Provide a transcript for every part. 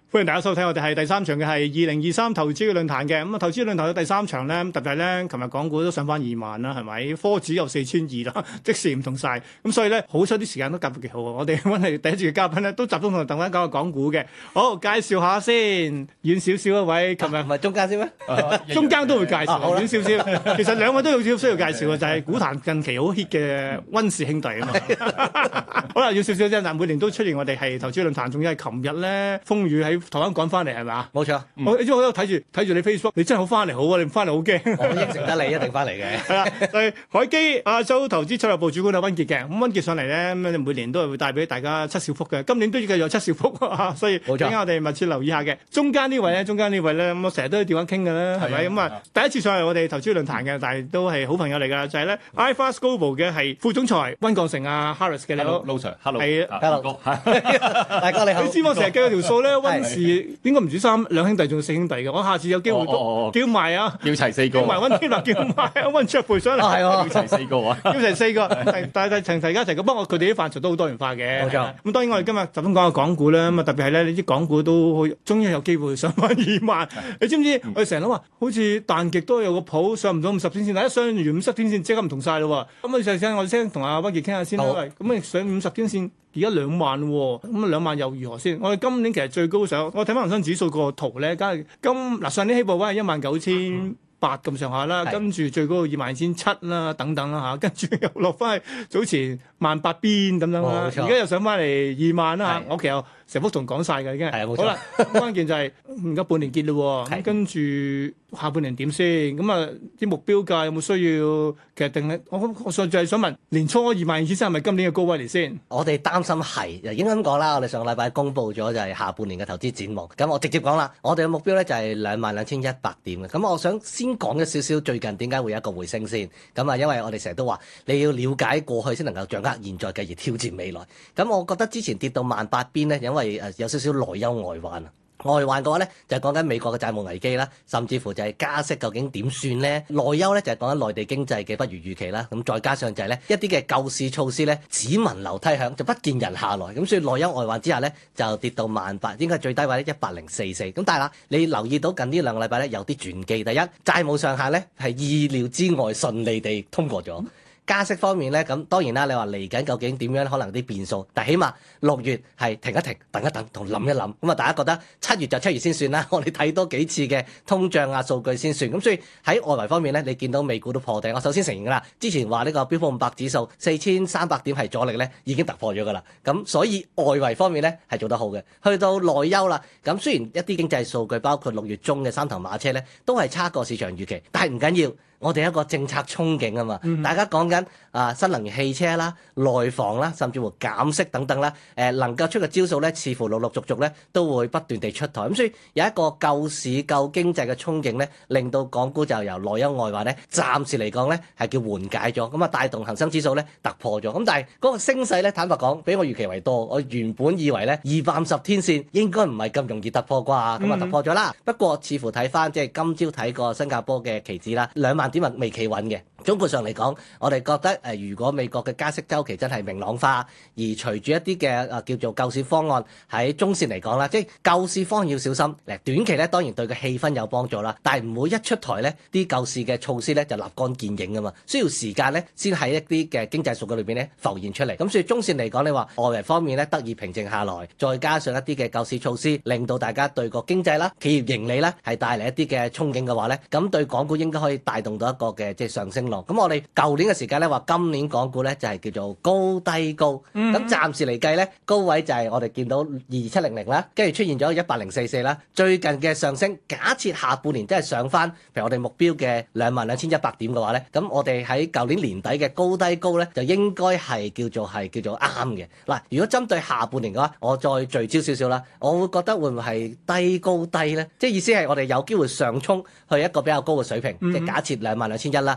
歡迎大家收睇，我哋係第三場嘅係2023投資嘅論壇嘅。咁啊，投資論壇嘅第三場咧，特別係咧，琴日港股都上翻2萬啦，係咪？科指有4200啦，即時唔同晒。咁所以咧，好彩啲時間都夾得幾好啊！我哋揾嚟第一次嘅嘉賓咧，都集中同大家講下港股嘅。好，介紹下先，遠少少一位，琴日唔係中間先咩？ 中間都會介紹，遠少少。其實兩位都有少少需要介紹嘅，就係股壇近期好 hit 嘅溫氏兄弟啊嘛。好啦，遠少少啫，嗱，每年都出現我哋係投資論壇，仲要係琴日咧風雨喺台灣趕翻嚟係咪？ 冇錯， 我因為我喺度睇住你 Facebook， 你真係好翻嚟好啊！你唔翻嚟好驚。 我應承得你一定翻嚟嘅。 係啦，係海基亞洲投資策略部主管阿溫傑嘅。咁溫傑上嚟咧，咁每年都係會帶俾大家七小福嘅。今年都要繼續有七小福啊，所以冇錯， 等我哋密切留意下嘅。中間呢位咧，咁我成日都電話傾嘅啦，係咪？咁啊，第一次上嚟我哋投資論壇嘅，但係都係好朋友嚟㗎，就係咧 iFAST Global 嘅係副總裁溫鋼城啊 Harris 嘅你好。 Hello Sir，Hello， 係 ，Hello，大哥你好。 你知我成日計條數咧，溫氏應該唔止兩兄弟，仲有4兄弟嘅。我下次有機會都叫埋啊， 叫齊4個， 叫埋溫天樂，叫埋溫卓培上嚟， 係喎， 叫齊4個啊， 叫齊4個，但係齊家齊個。不過佢哋啲範疇都好多元化嘅。 冇錯。 咁當然我哋今日集中講下港股啦。咁啊特別係咧，你啲港股都終於有機會上翻2萬。你知唔知？我哋成日都話好似彈極都有個譜，上唔到50天線，但一上完50天線即刻唔同晒咯喎。咁我哋先同阿溫傑傾下先啦。咁你上50天線。而家2萬喎，咁2萬又如何先？我哋今年其實最高上，我睇翻恒生指數個圖咧，梗係上年起步位係19800咁上下啦，跟住最高22700啦，等等啦嚇，跟住又落翻去早前18000邊咁樣啦，而家又上翻嚟2萬啦。我其實成幅圖講晒㗎已經。係冇錯。好啦，關鍵就係而家半年結咯喎，咁跟住下半年點先？咁啊啲目標價有冇需要？其實定係我上就係想問年初22000先係咪今年嘅高位嚟先？ 我哋擔心係，應該咁講啦。我哋上個禮拜公布咗就係下半年嘅投資展望。咁我直接講啦，我哋嘅目標咧就係22100點嘅。咁我想先講一少少最近點解會有一個回升先。咁啊，因為我哋成日都話你要了解過去先能夠掌握現在，繼而挑戰未來。咁我覺得之前跌到18000邊咧，因為有少少內憂外患啊。外患嘅話咧，就係講緊美國嘅債務危機啦，甚至乎就係加息究竟點算咧？內憂咧就係講緊內地經濟嘅不如預期啦。咁再加上就係咧一啲嘅救市措施咧，只聞樓梯響就不見人下來。咁所以內憂外患之下咧，就跌到18000，應該係最低位咧18044。咁但係啦，你留意到近呢2個禮拜咧有啲轉機。第一，債務上限咧係意料之外順利地通過咗。加息方面咧，咁當然啦，你話嚟緊究竟點樣，可能啲變數，但起碼6月係停一停、等一等同諗一諗。咁啊，大家覺得7月就7月先算啦。我哋睇多幾次嘅通脹啊數據先算。咁所以喺外圍方面咧，你見到美股都破頂。我首先承認㗎啦，之前話呢個標普500指數4300點係阻力咧，已經突破咗㗎啦。咁所以外圍方面咧係做得好嘅。去到內憂啦，咁雖然一啲經濟數據包括6月中嘅3頭馬車咧，都係差過市場預期，但係唔緊要。我哋一個政策憧憬啊嘛，大家講緊新能源汽車啦、內房啦，甚至乎減息等等啦，能夠出嘅招數咧，似乎陸陸續續咧都會不斷地出台，咁所以有一個救市救經濟嘅憧憬咧，令到港股就由內憂外患咧，暫時嚟講咧係叫緩解咗，咁啊帶動恒生指數咧突破咗，咁但係嗰個升勢咧，坦白講比我預期為多，我原本以為咧250天線應該唔係咁容易突破啩，咁啊突破咗啦，不過似乎睇翻即係今朝睇過新加坡嘅期指啦，2萬點未企穩嘅。總括上嚟講，我哋覺得如果美國嘅加息週期真係明朗化，而隨住一啲嘅叫做救市方案喺中線嚟講啦，即係救市方案要小心。短期咧當然對個氣氛有幫助啦，但係唔會一出台咧啲救市嘅措施咧就立竿見影啊嘛，需要時間咧先喺一啲嘅經濟數據裏邊咧浮現出嚟。咁所以中線嚟講，你話外圍方面咧得以平靜下來，再加上一啲嘅救市措施，令到大家對個經濟啦、企業盈利啦係帶嚟一啲嘅憧憬嘅話咧，咁對港股應該可以帶動到一個嘅即係上升。咁我哋舊年嘅時間咧話今年港股咧就係叫做高低高，咁暫時嚟計咧高位就係我哋見到2700啦，跟住出現咗18044啦。最近嘅上升，假設下半年真係上翻，譬如我哋目標嘅22100點嘅話咧，咁我哋喺舊年年底嘅高低高咧就應該係叫做啱嘅。嗱，如果針對下半年嘅話，我再聚焦少少啦，我會覺得會唔會係低高低咧？即係意思係我哋有機會上衝去一個比較高嘅水平，即係假設22100啦，但係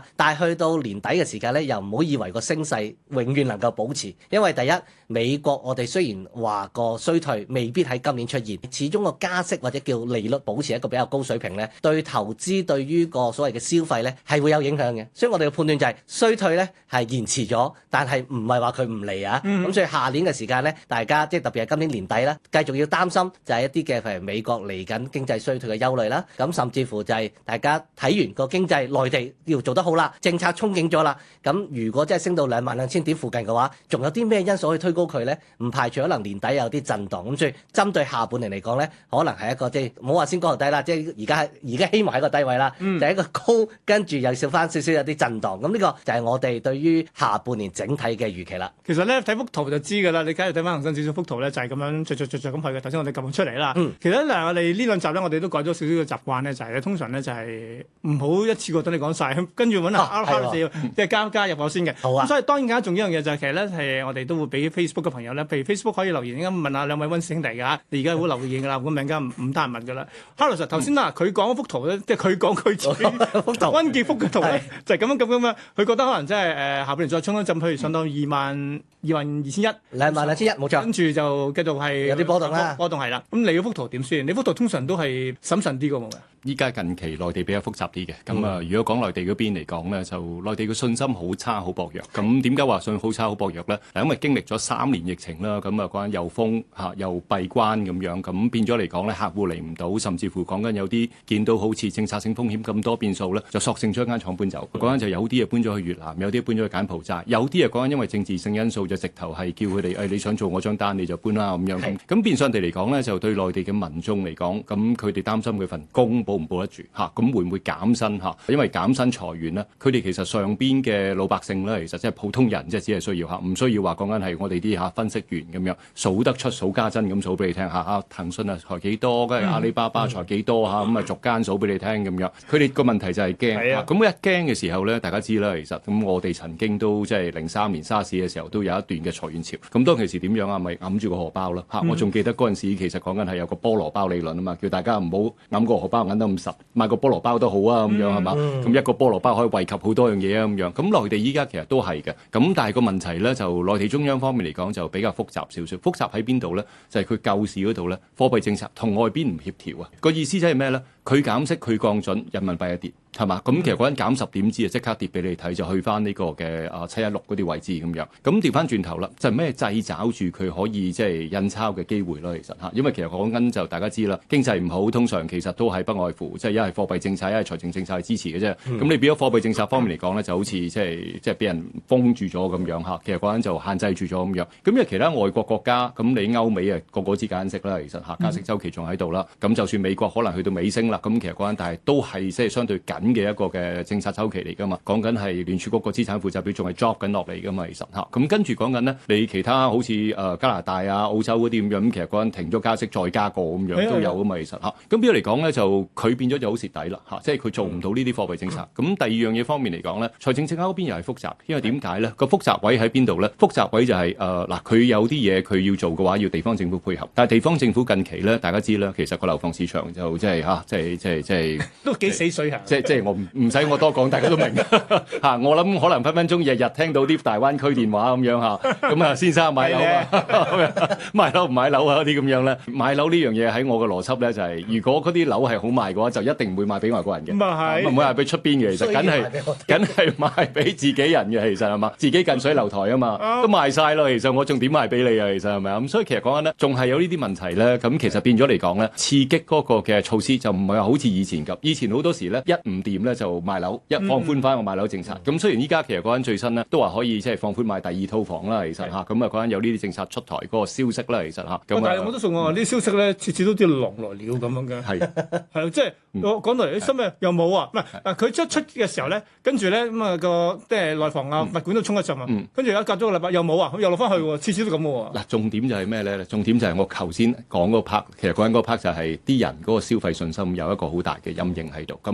去到年底嘅時間咧，又唔好以為個升勢永遠能夠保持，因為第一美國我哋雖然話個衰退未必喺今年出現，始終個加息或者叫利率保持一個比較高水平咧，對投資對於個所謂嘅消費咧係會有影響嘅。所以我哋嘅判斷就係衰退咧係延遲咗，但係唔係話佢唔嚟啊。咁所以下年嘅時間咧，大家即係特別係今年年底啦，繼續要擔心就係一啲嘅譬如美國嚟緊經濟衰退嘅憂慮啦。咁甚至乎就係大家睇完個經濟內地要做得好啦，政策憧憬咗啦。咁如果真係升到22,000點附近嘅話，仲有啲咩因素可以推高佢咧？唔排除可能年底有啲震盪。咁所以針對下半年嚟講咧，可能係一個即係唔好話先高後低啦，即係而家希望係一個低位啦，就係一個高跟住又少翻少少有啲震盪。咁呢個就係我哋對於下半年整體嘅預期啦。 其實咧睇幅圖就知㗎啦，你假如睇翻恒生指數幅圖咧，就係咁樣着咁去嘅。頭先我哋撳出嚟啦。其實嗱，我哋呢兩集咧，我哋都改咗少少嘅習慣咧，就係咧通常咧就係唔好一次過等你講晒，跟住揾即係加入我先嘅。好啊。咁所以當然更加重要一樣嘢就係其實咧係我哋都會俾 Facebook 嘅朋友咧，譬如 Facebook 可以留言，問下兩位溫師兄弟㗎。你而家好留言㗎啦，咁陣間唔得閒問㗎啦。Carlos 頭先嗱，佢講嗰幅圖咧，即係佢講佢自己幅圖，溫傑福嘅圖咧，就係咁樣。佢覺得可能真係下半年再衝一陣，譬如上到22,200，22,200， 冇錯。 跟住就繼續係有啲波動啦， 波動係啦。咁你嗰幅圖點先？你幅圖通常都係審慎啲㗎嘛？ 依家近期內地比較複雜啲嘅，咁如果講內地嗰邊嚟講咧，就內地嘅信心好差好薄弱。咁點解話信好差好薄弱咧？因為經歷咗3年疫情啦，咁講緊又封又閉關咁樣，咁變咗嚟講咧，客戶嚟唔到，甚至乎講緊有啲見到好似政策性風險咁多變數咧，就索性將間廠搬走。講緊就有啲嘢搬咗去越南，有啲搬咗去柬埔寨，有啲嘢講緊因為政治性因素就直頭係叫佢哋你想做我張單你就搬啦咁樣。咁變相地嚟講咧，就對內地嘅民眾嚟講，咁佢哋擔心佢份工保唔保得住嚇，咁會唔會減薪嚇？因為減薪裁員咧，佢哋其實上邊嘅老百姓咧，其實即係普通人，即係只係需要嚇，唔需要話講緊係我哋啲分析員咁樣數得出數家珍咁數俾你聽嚇。騰訊啊裁幾多，跟住阿里巴巴裁幾多嚇，咁逐間數俾你聽咁樣。佢哋個問題就係驚，咁一驚嘅時候咧，大家知啦，其實咁我哋曾經都即係03年沙士嘅時候都有一段嘅裁員潮。咁當其時點樣啊？咪揞住個荷包啦嚇！我仲記得嗰陣時其實講緊係有個菠蘿包理論啊嘛，叫大家唔好揞個荷包揞得咁實。買個菠蘿包都好啊，咁樣係嘛？咁一個菠蘿包可以惠及好多樣嘢啊，咁樣。咁內地依家其實都係嘅，咁但係個問題咧，就內地中央方面嚟講就比較複雜少少。複雜喺邊度咧？就係佢救市嗰度咧，貨幣政策同外邊唔協調啊。個意思即係咩咧？佢減息，佢降準，人民幣一跌，係嘛？咁其實嗰陣減10點子啊，即刻跌俾你睇，就去翻呢個嘅716嗰啲位置咁樣。咁調翻轉頭啦，就係咩掣找住佢可以即係印鈔嘅機會咯？其實嚇，因為其實講緊就大家知啦，經濟唔好，通常其實都係不外乎即係一係貨幣政策，一係財政政策去支持嘅啫。咁你變咗貨幣政策方面嚟講咧，就好似即係俾人封住咗咁樣嚇。其實嗰陣就限制住咗咁樣。咁因為其他外國國家，咁你歐美啊個知加息啦，其實嚇加息週期仲喺度啦。咁就算美國可能去到尾聲啦。咁其實嗰陣，但係都係即係相對緊嘅一個嘅政策週期嚟㗎嘛。講緊係聯儲局個資產負債表仲係 drop 緊落嚟㗎嘛。其實嚇，咁跟住講緊呢，你其他好似加拿大啊、澳洲嗰啲咁樣，咁其實嗰陣停咗加息再加過咁樣都有㗎嘛。其實嚇，咁變咗嚟講咧，就佢變咗就好蝕底啦嚇，即係佢做唔到呢啲貨幣政策。咁第二樣嘢方面嚟講咧，財政政策嗰邊又係複雜，因為點解咧？個複雜位喺邊度咧？複雜位就係嗱，佢有啲嘢佢要做嘅話，要地方政府配合。但係地方政府近期咧，大家知啦，其實個樓房市場就即係嚇，即係都幾死水嚇。即係我唔使我多講，大家都明嚇。我諗可能分分鐘日日聽到啲大灣區電話咁樣嚇。咁啊，先生買樓啊，買樓唔買樓啊嗰啲咁樣咧。買樓呢樣嘢喺我嘅邏輯咧就係，如果嗰啲樓係好賣嘅話，就一定唔會賣俾外國人嘅。唔會賣俾出邊嘅，其實梗係賣俾自己人嘅，其實係嘛？自己近水樓台啊嘛，都賣晒咯。其實我仲點賣俾你啊？其實係咪啊？咁所以其實講緊咧，仲係有呢啲問題咧。咁其實變咗嚟講咧，刺激嗰個嘅措施就唔係話好似以前咁。以前好多時咧，一唔掂咧就賣樓，一放寬翻個賣樓政策。咁雖然依家其實講緊最新咧，都話可以即係放寬買第二套房啦。其實嚇，咁啊講緊有呢啲政策出台嗰個消息啦。其實嚇，咁但係我都信我話呢啲消息咧，次次都似狼來了咁樣嘅。係即係我講到嚟啲新嘅又冇啊，唔係佢出嘅時候咧，跟住咧咁啊個即係內房啊物管都衝一陣啊，跟住而家隔咗個禮拜又冇啊，又落翻去喎，次次都咁喎。 嗱，重點就係咩咧？重點就係我頭先講嗰 part，其實講緊嗰 part 就係啲人嗰個消費信心有一個好大嘅陰影喺度。咁嗰個陰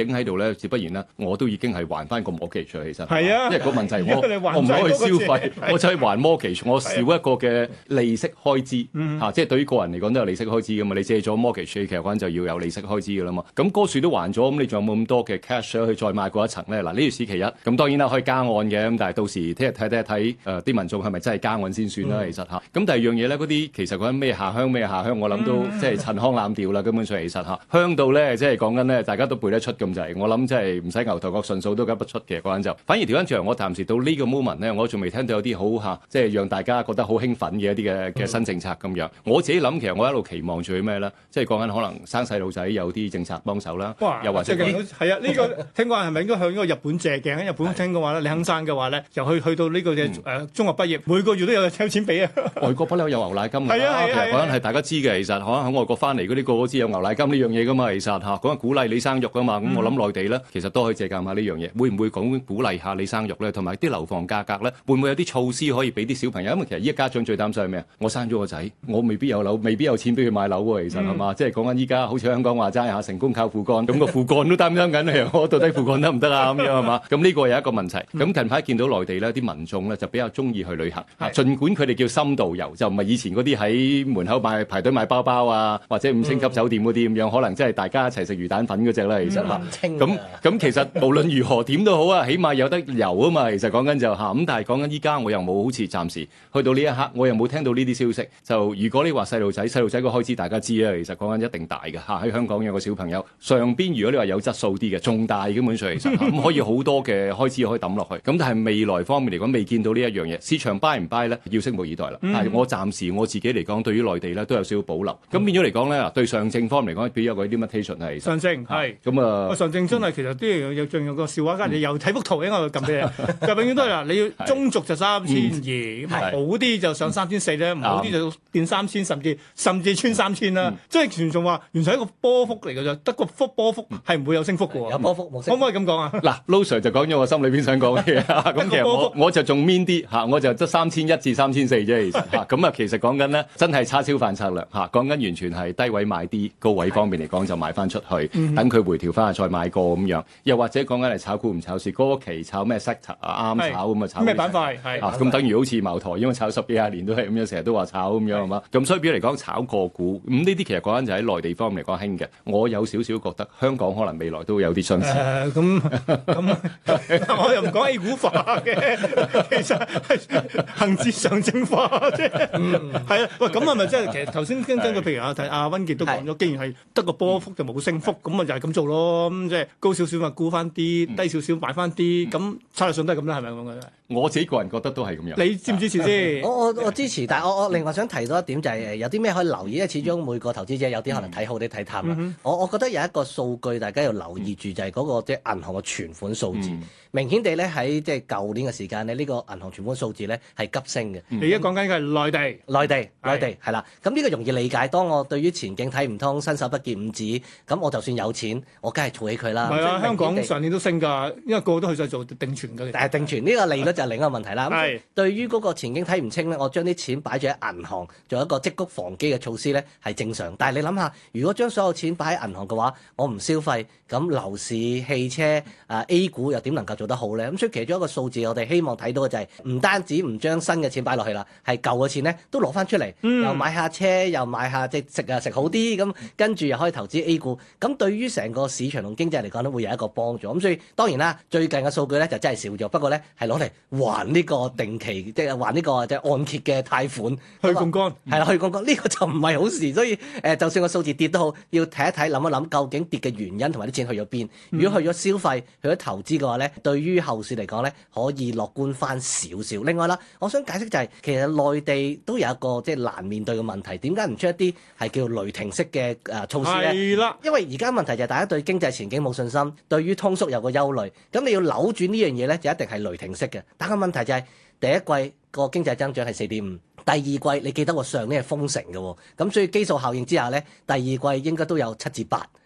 影喺度咧，自不然啦，我都已經係還翻個 mortgage 其實係啊， 因為個問題因為你還我唔可以消費， 債我就係還 mortgage，我少一個嘅利息開支即係對於個人嚟講都有利息開支噶嘛。你借咗 mortgage，其實嗰陣就要有利息開支噶啦嘛。咁嗰樹都還咗，咁你仲有冇咁多嘅 cash 去再買過一層咧？嗱，呢條是其一。咁當然啦，可以加按嘅，咁但係到時聽日睇啲民眾係咪真係加按先算啦。其實嚇。咁第二樣嘢咧，嗰啲其實講緊咩下鄉，我諗都即係陳腔濫調啦。根本上其實嚇香到咧，即係講緊咧，大家都背得出咁滯。我諗即係唔使牛頭角順數都噏得出嘅嗰陣就。反而調翻轉，我暫時到呢個 moment 咧，我仲未聽到有啲好即係讓大家覺得好興奮嘅一啲嘅新政策咁樣。我自己諗其實我一路期望住咩咧？即係講緊可能生細路仔有啲政策幫手啦，又或者係啊，呢個聽講係咪應該向呢個日本借鏡？喺日本聽嘅話咧，你肯生嘅話咧，又去到呢個嘅中學畢業，每個月都有錢俾啊！ 外國不嬲有牛奶金㗎， 係啊， 其實講緊係大家知嘅。其實可能喺外國翻嚟嗰啲個個知有牛奶金呢樣嘢㗎嘛。其實嚇講緊鼓勵你生育㗎嘛。咁我諗內地咧，其實都可以借鑑下呢樣嘢。會唔會講鼓勵下你生育咧？同埋啲樓房價格咧，會唔會有啲措施可以俾啲小朋友？因為其實依家家長最擔心係咩啊？我生咗個仔，我未必有樓，未必有錢俾佢買樓喎。其實係嘛？即係講緊依家好似香港話齋嚇，成功靠父幹，咁個父幹都擔心緊我到底父幹得唔得啊？咁樣係嘛？咁呢個有一個問題。咁近排見到內地咧，啲民眾咧就比較中意去旅行。儘管佢哋叫深度遊，就唔係以前嗰啲喺門口排隊買包包啊，或者5星級酒店嗰啲咁樣，可能即係大家一齊食魚蛋粉嗰隻啦。其實咁其實無論如何點都好啊，起碼有得遊啊嘛。其實講緊就咁，但係講緊依家我又冇好似暫時去到呢一刻，我又冇聽到呢啲消息。就如果你話細路仔個開支，大家知啊，其實講緊一定大嘅喺香港有個小朋友上邊，如果你話有質素啲嘅，仲大基本上其實咁可以好多嘅開支可以抌落去。咁但係未來方面嚟講，未見到呢一樣嘢，市場 buy 唔 buy 咧，要拭目以待啦。但係我暫時我自己嚟講，對於內地咧都有少少保留。咁變咗嚟講咧，對上證方面嚟講，比較有個 limitation 係上證係咁啊。 上證真係其實啲仲有個笑話，你又睇幅圖，應該撳俾你，就永遠都係嗱，你要中軸就3200，好啲就上3400咧，唔好啲就變3000，甚至穿3000啦。即係全仲話完全係一個波幅嚟嘅啫，得個波幅係唔會有升幅嘅喎。 有波幅冇升幅， 可唔可以咁講啊？ 嗱，Lo Sir 就講咗我心裏邊想講嘅嘢。咁其實我就仲 mean 啲嚇，我就得3100至3400啫。其實嚇咁啊，其實講緊咧真係叉燒飯策略嚇，講緊完全係低位買啲，高位方面嚟講就賣翻出去，等佢回調翻再買過咁樣。又或者講緊係炒股唔炒市，嗰期炒咩 sector 啊，啱炒咁啊炒咩板塊係咁等於好似茅台，因為炒10幾20年都係咁樣，成日都話炒咁樣係嘛。咁所以比如嚟講炒個股，咁呢啲其實講緊就喺內地方面嚟講興嘅。我有少少覺得香港可能未來都有啲相似。 咁我又唔講 A 股化嘅，其實係恆指上證化啫。係啊，喂，咁係咪即係其實頭先根據譬如阿溫傑都講咗，既然係得個波幅就冇升幅，咁啊就係咁做咯。咁即係高少少咪沽翻啲，低少少買翻啲，咁策略上都係咁啦，係咪咁嘅？ 我自己個人覺得都係咁樣。 你支唔支持先？ 我支持，但係我另外想提多一點就係有啲咩可以留意，因為始終每個投資者有啲可能睇好啲睇淡啦。我覺得有一個數據大家要留意住，就係嗰個即係銀行嘅存款數字。明顯地咧喺即係舊年嘅時間咧，呢個銀行存款數字咧係急升嘅。 你而家講緊嘅係內地係啦。咁呢個容易理解。當我對於前景睇唔通，伸手不見五指，咁我就算有錢，我梗係儲起佢啦。 係啊，香港上年都升㗎，因為個個都去晒做定存㗎。 但係定存呢個利率就係另一個問題啦。咁對於嗰個前景睇唔清咧，我將啲錢擺住喺銀行，做一個積谷防饑嘅措施咧係正常。但係你諗下，如果將所有錢擺喺銀行嘅話，我唔消費，咁樓市、汽車、A 股又點能夠做得好咧？咁所以其中一個數字，我哋希望睇到嘅就係唔單止唔將新嘅錢擺落去啦，係舊嘅錢咧都攞翻出嚟，又買下車，又買下即係食好啲，咁跟住又可以投資 A 股。咁對於成個市場同經濟嚟講咧，會有一個幫助。咁所以當然啦，最近嘅數據咧就真係少咗，不過咧係攞嚟還呢個定期，即係還呢個即係按揭嘅貸款去槓桿， 係啦，去槓桿呢個就唔係好事。所以就算個數字跌都好，要睇一睇，諗一諗究竟跌嘅原因同埋啲錢去咗邊。如果去咗消費、去咗投資嘅話咧，對於後市嚟講咧，可以樂觀翻少少。另外啦，我想解釋就係其實內地都有一個即係難面對嘅問題，點解唔出一啲係叫雷霆式嘅措施咧？ 係啦， 因為而家問題就係大家對經濟前景冇信心，對於通縮有個憂慮，咁你要扭轉呢樣嘢咧，就一定係雷霆式嘅。但係問題就係第一季個經濟增長係4.5%，第二季你記得我上年係封城嘅喎，咁所以基數效應之下咧，第二季應該都有7至8。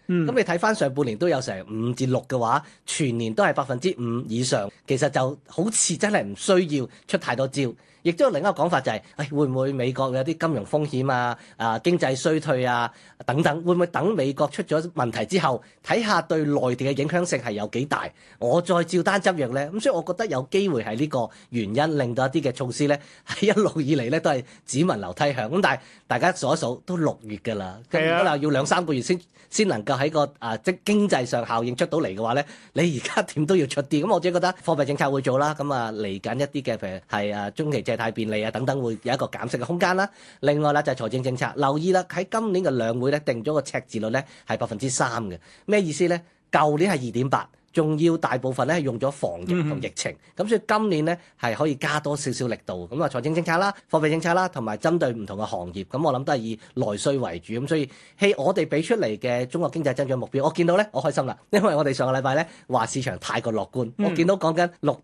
咁你睇翻上半年都有成5至6嘅話，全年都係5%以上，其實就好似真係唔需要出太多招。亦都有另一個講法就係，會唔會美國有啲金融風險啊、經濟衰退啊等等，會唔會等美國出咗問題之後，睇下對內地嘅影響性係有幾大，我再照單執藥呢？咁所以我覺得有機會係呢個原因令到一啲嘅措施呢，係一路以嚟呢都係只聞樓梯響。咁但係大家數一數都6月㗎啦，咁如果話要2-3個月先能夠喺個即經濟上效應出到嚟嘅話呢，你而家點都要出啲。咁我自己覺得貨幣政策會做啦，咁嚟緊一啲嘅譬如係中期借貸便利啊等等，會有一個減息嘅空間啦。另外啦就係財政政策，留意啦喺今年嘅兩會咧定咗個赤字率咧係3%嘅，咩意思咧？舊年係2.8%。仲要大部分咧係用咗防疫同疫情，咁所以今年咧係可以加多少少力度，咁財政政策啦、貨幣政策啦，同埋針對唔同嘅行業，咁我諗都係以內需為主，咁所以我哋俾出嚟嘅中國經濟增長目標，我見到咧我開心啦，因為我哋上個禮拜咧話市場太過樂觀，我見到講緊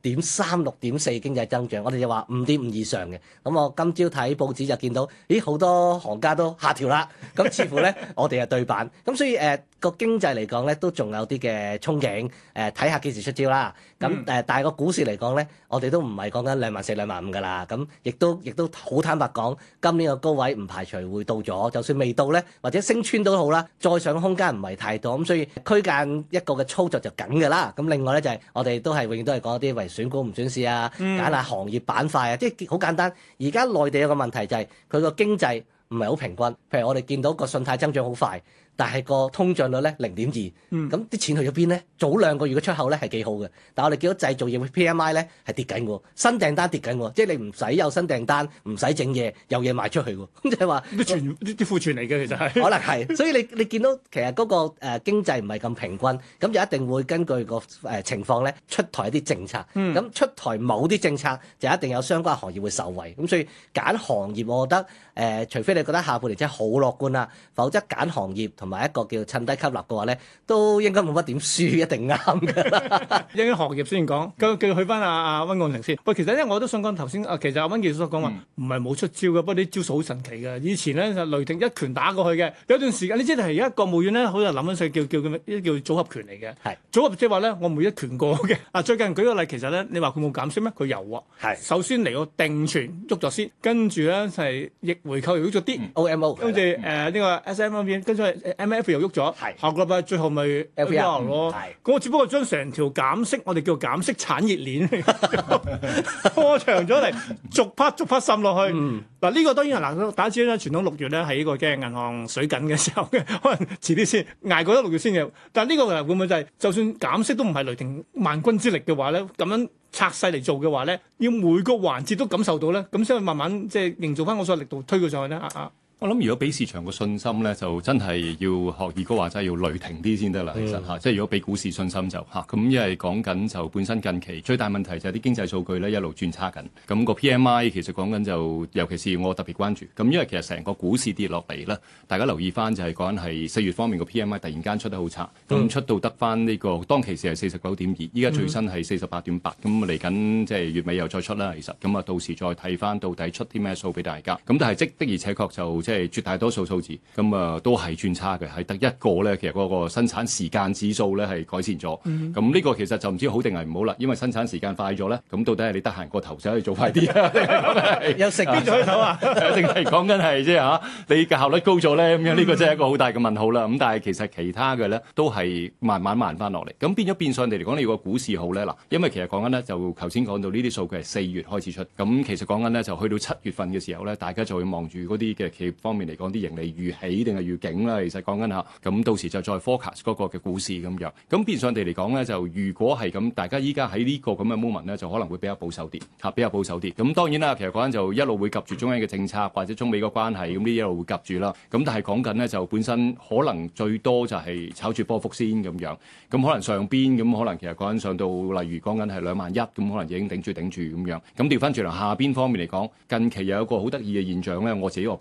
6.3、6.4經濟增長，我哋就話5.5以上嘅，咁我今朝睇報紙就見到，好多行家都下調啦，咁似乎咧我哋係對版，咁所以個經濟嚟講咧都仲有啲嘅憧憬。睇下幾時出招啦，咁但係個股市嚟講咧，我哋都唔係講緊24,000、25,000㗎啦，咁亦都好坦白講，今年個高位唔排除會到咗，就算未到咧，或者升穿都好啦，再上嘅空間唔係太多，咁所以區間一個嘅操作就緊㗎啦。咁另外咧就係我哋都係永遠都係講一啲為選股唔選市啊，揀下行業板塊啊，即係好簡單。而家內地有個問題就係佢個經濟唔係好平均，譬如我哋見到個信貸增長好快。但係個通脹率咧0.2，咁啲錢去咗邊咧？早2個月嘅出口咧係幾好嘅，但係我哋見到製造業嘅 PMI 咧係跌緊喎，新訂單跌緊喎，即係你唔使有新訂單，唔使整嘢，有嘢賣出去喎，咁即係話啲庫存嚟嘅其實係可能係，所以你見到其實嗰個經濟唔係咁平均，咁就一定會根據個情況咧出台一啲政策，咁出台某啲政策就一定有相關行業會受惠，咁所以揀行業，我覺得除非你覺得下半年真係好樂觀啦，否則揀行業同埋一個叫趁低吸納嘅話咧，都應該冇乜點輸，一定啱㗎啦。 一啲行業先講，繼續去翻阿溫鋼城先。喂，其實咧我都想講頭先，其實阿溫教授所講話唔係冇出招嘅，不過啲招數好神奇嘅。以前咧就雷霆一拳打過去嘅，有段時間你知係而家國務院咧好多人諗緊世叫組合拳嚟嘅。係組合即係話咧，我每一拳過嘅。最近舉個例，其實咧你話佢冇減息咩？佢有喎。係首先嚟個定存喐咗先，跟住咧係逆回購又喐咗啲 OMO， 跟住呢個 SM 嗰邊，跟住 MF 又喐咗。下個禮拜最後咪 LPR 咯。咁我只不過將成條減息，我哋叫減息產業鏈拖長咗嚟，逐 part 滲落去。嗱呢個當然係大家知啦，傳統6月咧係呢個嘅銀行水緊嘅時候嘅，可能遲啲先捱過咗6月先嘅。但係呢個會唔會就係就算減息都唔係雷霆萬鈞之力嘅話咧，咁樣拆細嚟做嘅話咧，要每個環節都感受到咧，咁先去慢慢即係營造翻我所力度推佢上去咧。 我諗如果俾市場個信心咧，就真係要學二哥話齋要雷霆啲先得啦。其實即係如果俾股市信心就咁，因為講緊就本身近期最大問題就係啲經濟數據咧一路轉差緊。咁個 PMI 其實講緊就，尤其是我特別關注。咁因為其實成個股市跌落嚟咧，大家留意翻就係講緊係4月方面個 PMI 突然間出得好差，咁出到得翻呢個當其時係49.2，依家最新係48.8。咁嚟緊即係月尾又再出啦。其實咁到時再睇翻到底出啲咩數俾大家。咁但係的而且確就即係絕大多數數字咁都係轉差嘅，係得一個咧，其實嗰個生產時間指數咧係改善咗。咁呢個其實就唔知好定係唔好啦，因為生產時間快咗咧，咁到底係你得閒個頭就可以做快啲啊？ 有食邊咗頭啊？ 定係講緊係即係你嘅效率高咗咧？咁樣呢個真係一個好大嘅問號啦。咁但係其實其他嘅咧都係慢慢翻落嚟。咁變咗變相地嚟講，你個股市好咧嗱，因為其實講緊咧就頭先講到呢啲數據係4月開始出，咁其實講緊咧就去到7月份嘅時候咧，大家就會望住嗰啲嘅企業方面嚟講啲盈利預起定係預警啦，其實講緊下，咁到時就再 forecast 嗰個嘅股市咁樣。咁變相地嚟講咧，就如果係咁，大家依家喺呢個咁嘅 moment 咧，就可能會比較保守啲，比較保守啲。咁當然啦，其實講緊就一路會及住中央嘅政策或者中美個關係，咁呢一路會及住啦。咁但係講緊咧就本身可能最多就係炒住波幅先咁樣。咁可能上邊咁可能其實講緊上到例如講緊係21,000，咁可能已經頂住咁樣。咁調翻轉嚟下邊方面嚟講，近期有一個好得意嘅現象咧，我自己 observe 咧。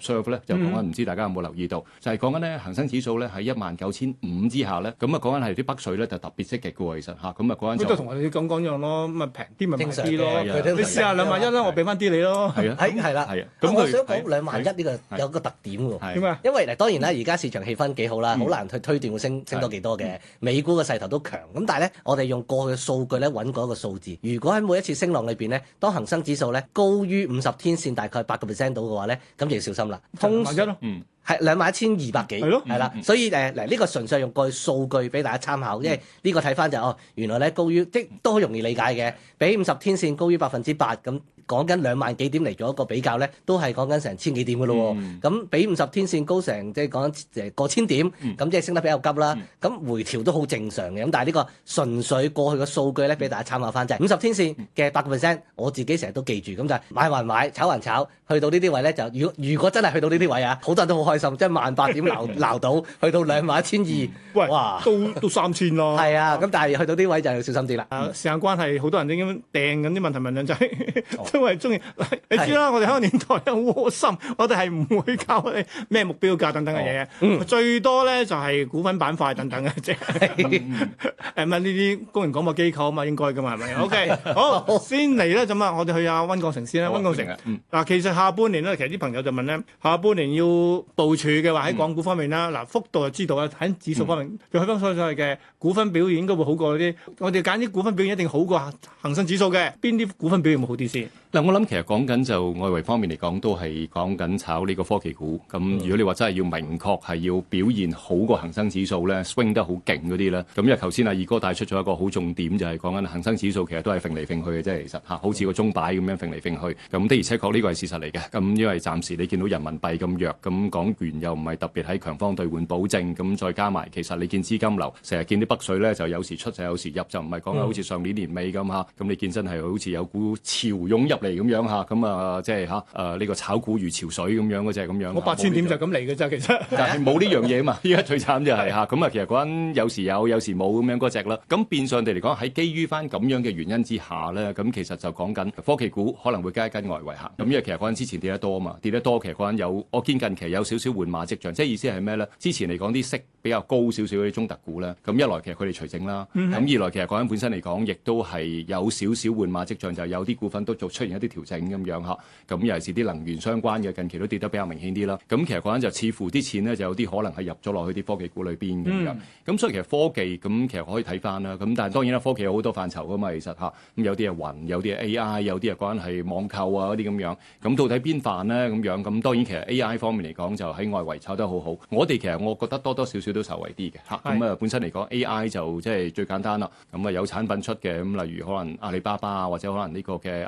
就講緊唔知大家有冇留意到，就係講緊咧恒生指數咧喺19,500之下咧，咁啊講緊係啲北水咧就特別積極嘅喎，其實嚇，咁啊嗰陣就都同我哋講一樣咯，咁啊平啲咪買啲咯， 正常嘅你試下2萬1啦，我俾翻啲你咯。 係啊， 係啦， 係啊， 咁我想佢講2萬1呢個有個特點喎。 點啊？ 因為嗱，當然啦，而家市場氣氛幾好啦，好難去推斷會升多幾多嘅。美股嘅勢頭都強，咁但係咧，我哋用過去嘅數據咧揾過一個數字。如果喺每一次升浪裏邊咧，當恒生指數咧高於50天線大概8%到嘅話咧，咁就要小心啦。 2萬1咯， 係21,200幾，係啦，所以嗱呢個純粹用過去數據俾大家參考，因為呢個睇翻就原來咧高於即都好容易理解嘅，比50天線高於8%咁。講緊2萬幾點嚟做一個比較咧，都係講緊成千幾點嘅咯喎。咁比50天線高成即係講緊過千點，咁即係升得比較急啦。咁回調都好正常嘅。咁但係呢個純粹過去嘅數據咧，俾大家參考翻就係50天線嘅8%，我自己成日都記住。咁就係買還買，炒還炒，去到呢啲位咧就如果真係去到呢啲位啊，好多人都好開心，即係18000點撈到，去到21200， 喂， 哇， 都3000咯。 係啊，咁但係去到呢位就要小心啲啦。 時間關係，好多人已經掟緊啲問題問兩仔。因為中意，你知啦，我哋香港電台咧好窩心，我哋係唔會教你咩目標價等等嘅嘢，最多咧就係股份板塊等等嘅啫。誒呢啲公營廣播機構啊嘛，應該噶嘛係咪 ？OK， 好，先嚟咧咁啊，我哋去阿溫鋼城先啦。溫鋼城嗱，其實下半年咧，其實啲朋友就問咧，下半年要部署嘅話喺港股方面啦，嗱幅度就知道啦，喺指數方面，就去翻所謂嘅股份表現應該會好過啲。我哋揀啲股份表現一定好過恒生指數嘅，邊啲股份表現會好啲先？ 嗱，我諗其實講緊就外圍方面嚟講，都係講緊炒呢個科技股。咁如果你話真係要明確係要表現好過恒生指數咧，swing 得好勁嗰啲咧，咁因為頭先阿二哥帶出咗一個好重點，就係講緊恒生指數其實都係揈嚟揈去嘅啫，其實嚇，好似個鐘擺咁樣揈嚟揈去。咁的而且確呢個係事實嚟嘅。咁因為暫時你見到人民幣咁弱，咁港元又唔係特別喺強方兌換保證，咁再加埋其實你見資金流，成日見啲北水咧就有時出就有時入，就唔係講好似上年年尾咁嚇。咁你見真係好似有股潮湧入嚟咁樣嚇，咁即係呢個炒股如潮水咁樣嗰隻咁樣。 我8000點就咁嚟嘅啫，其實。 但係冇呢樣嘢嘛，依家最慘就係咁其實嗰陣有時有，有時冇咁樣嗰隻啦。咁變相地嚟講，喺基於翻咁樣嘅原因之下咧，咁其實就講緊科技股可能會跟一跟外圍行。咁因為其實嗰陣之前跌得多啊嘛，跌得多其實嗰陣我見近期有少少換馬跡象，即係意思係咩咧？之前嚟講啲息比較高少少嗰啲中特股咧，咁一來其實佢哋除淨啦，咁二來其實嗰陣本身嚟講，亦都係有少少換馬跡象，就有啲股份都出現一啲調整咁樣嚇。咁尤其是啲能源相關嘅，近期都跌得比較明顯啲啦。咁其實嗰陣就似乎啲錢咧就有啲可能係入咗落去啲科技股裏邊咁樣。咁所以其實科技咁其實可以睇翻啦。咁但係當然啦，科技有好多範疇噶嘛，其實嚇。咁有啲係雲，有啲係 AI，有啲係關係網購啊嗰啲咁樣。咁到底邊範咧咁樣？咁當然其實 AI 方面嚟講就喺外圍炒得好好。我哋其實我覺得多多少少都受惠啲嘅嚇。咁本身嚟講 AI 就即係最簡單啦。咁有產品出嘅，咁例如可能阿里巴巴啊，或者可能呢個嘅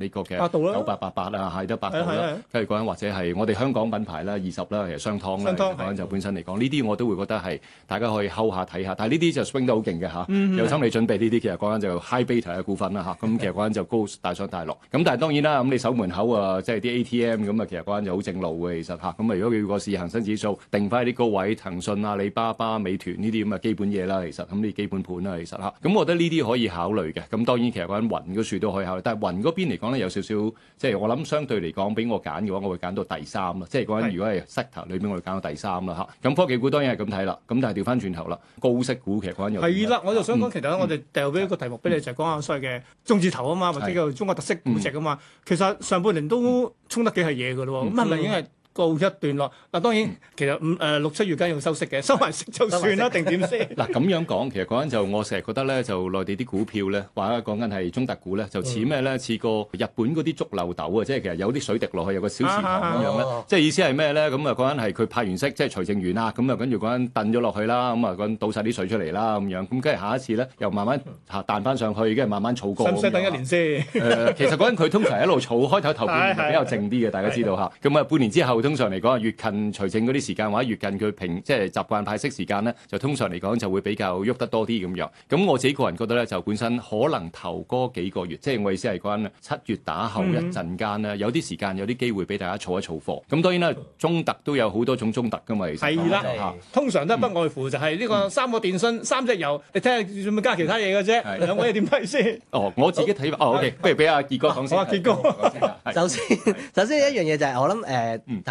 9888啊，係得百度啦。跟住講緊或者係我哋香港品牌啦，20啦，其實商湯啦，講緊就本身嚟講，呢啲我都會覺得係大家可以睺下睇下。但係呢啲就 swing 得好勁嘅嚇，有心理準備呢啲其實講緊就 high beta 嘅股份啦嚇。咁其實講緊就高大上大落。咁但係當然啦，咁你守門口啊，即係啲 ATM 咁啊，其實講緊就好正路嘅其實嚇。咁如果佢個市恒生指數定翻啲高位，騰訊、阿里巴巴、美團呢啲咁嘅基本嘢啦，其實咁呢啲基本盤啦，其實嚇。咁我覺得呢啲可以考慮嘅。咁當然其實講緊雲嗰樹都可以考慮，但係雲嗰邊嚟講咧有少少，即係我諗相對嚟講，俾我揀嘅話，我會揀到第3啦。即係講緊如果係 sector 裏邊，我會揀到第3啦嚇。咁科技股當然係咁睇啦。咁但係調翻轉頭啦，高息股其實講緊又係啦，我就想講，其實我哋掉俾一個題目俾你，就係講下所謂嘅中字頭啊嘛，或者叫做中國特色估值啊嘛。其實上半年都衝得幾係嘢嘅咯喎，咁係咪已經係告一段落？嗱，當然其實6、7月間要收息嘅，收埋息就算啦，定點先？ 嗱咁樣講，其實嗰陣就我成日覺得咧，就內地啲股票咧，或者講緊係中特股咧，就似咩咧？似個日本嗰啲竹漏斗啊，即係其實有啲水滴落去，有個小池塘咁樣咧。即係意思係咩咧？咁啊嗰陣係佢派完息，即係除淨完啦，咁啊跟住嗰陣燉咗落去啦，咁啊嗰陣倒晒啲水出嚟啦，咁樣咁跟住下一次咧，又慢慢彈翻上去，跟住慢慢儲過。 使唔使等1年先？ 其實嗰陣佢通常一路儲，開頭半年比較靜啲嘅，大家知道嚇。咁啊半年之後，通常嚟講越近除淨嗰啲時間，或者越近佢即係習慣派息時間咧，就通常嚟講就會比較喐得多啲咁樣。咁我自己個人覺得咧，就本身可能頭嗰幾個月，即係我意思係講7月打後一陣間咧，有啲時間有啲機會俾大家儲一儲貨。咁當然啦，中特都有好多種中特噶嘛，其實係啦，通常都係不外乎就係呢個3個電信、3隻油，你睇下仲咪加其他嘢嘅啫。兩位點睇先？ 我自己睇法。OK，不如俾阿傑哥講先。 傑哥， 首先一樣嘢就係我諗頭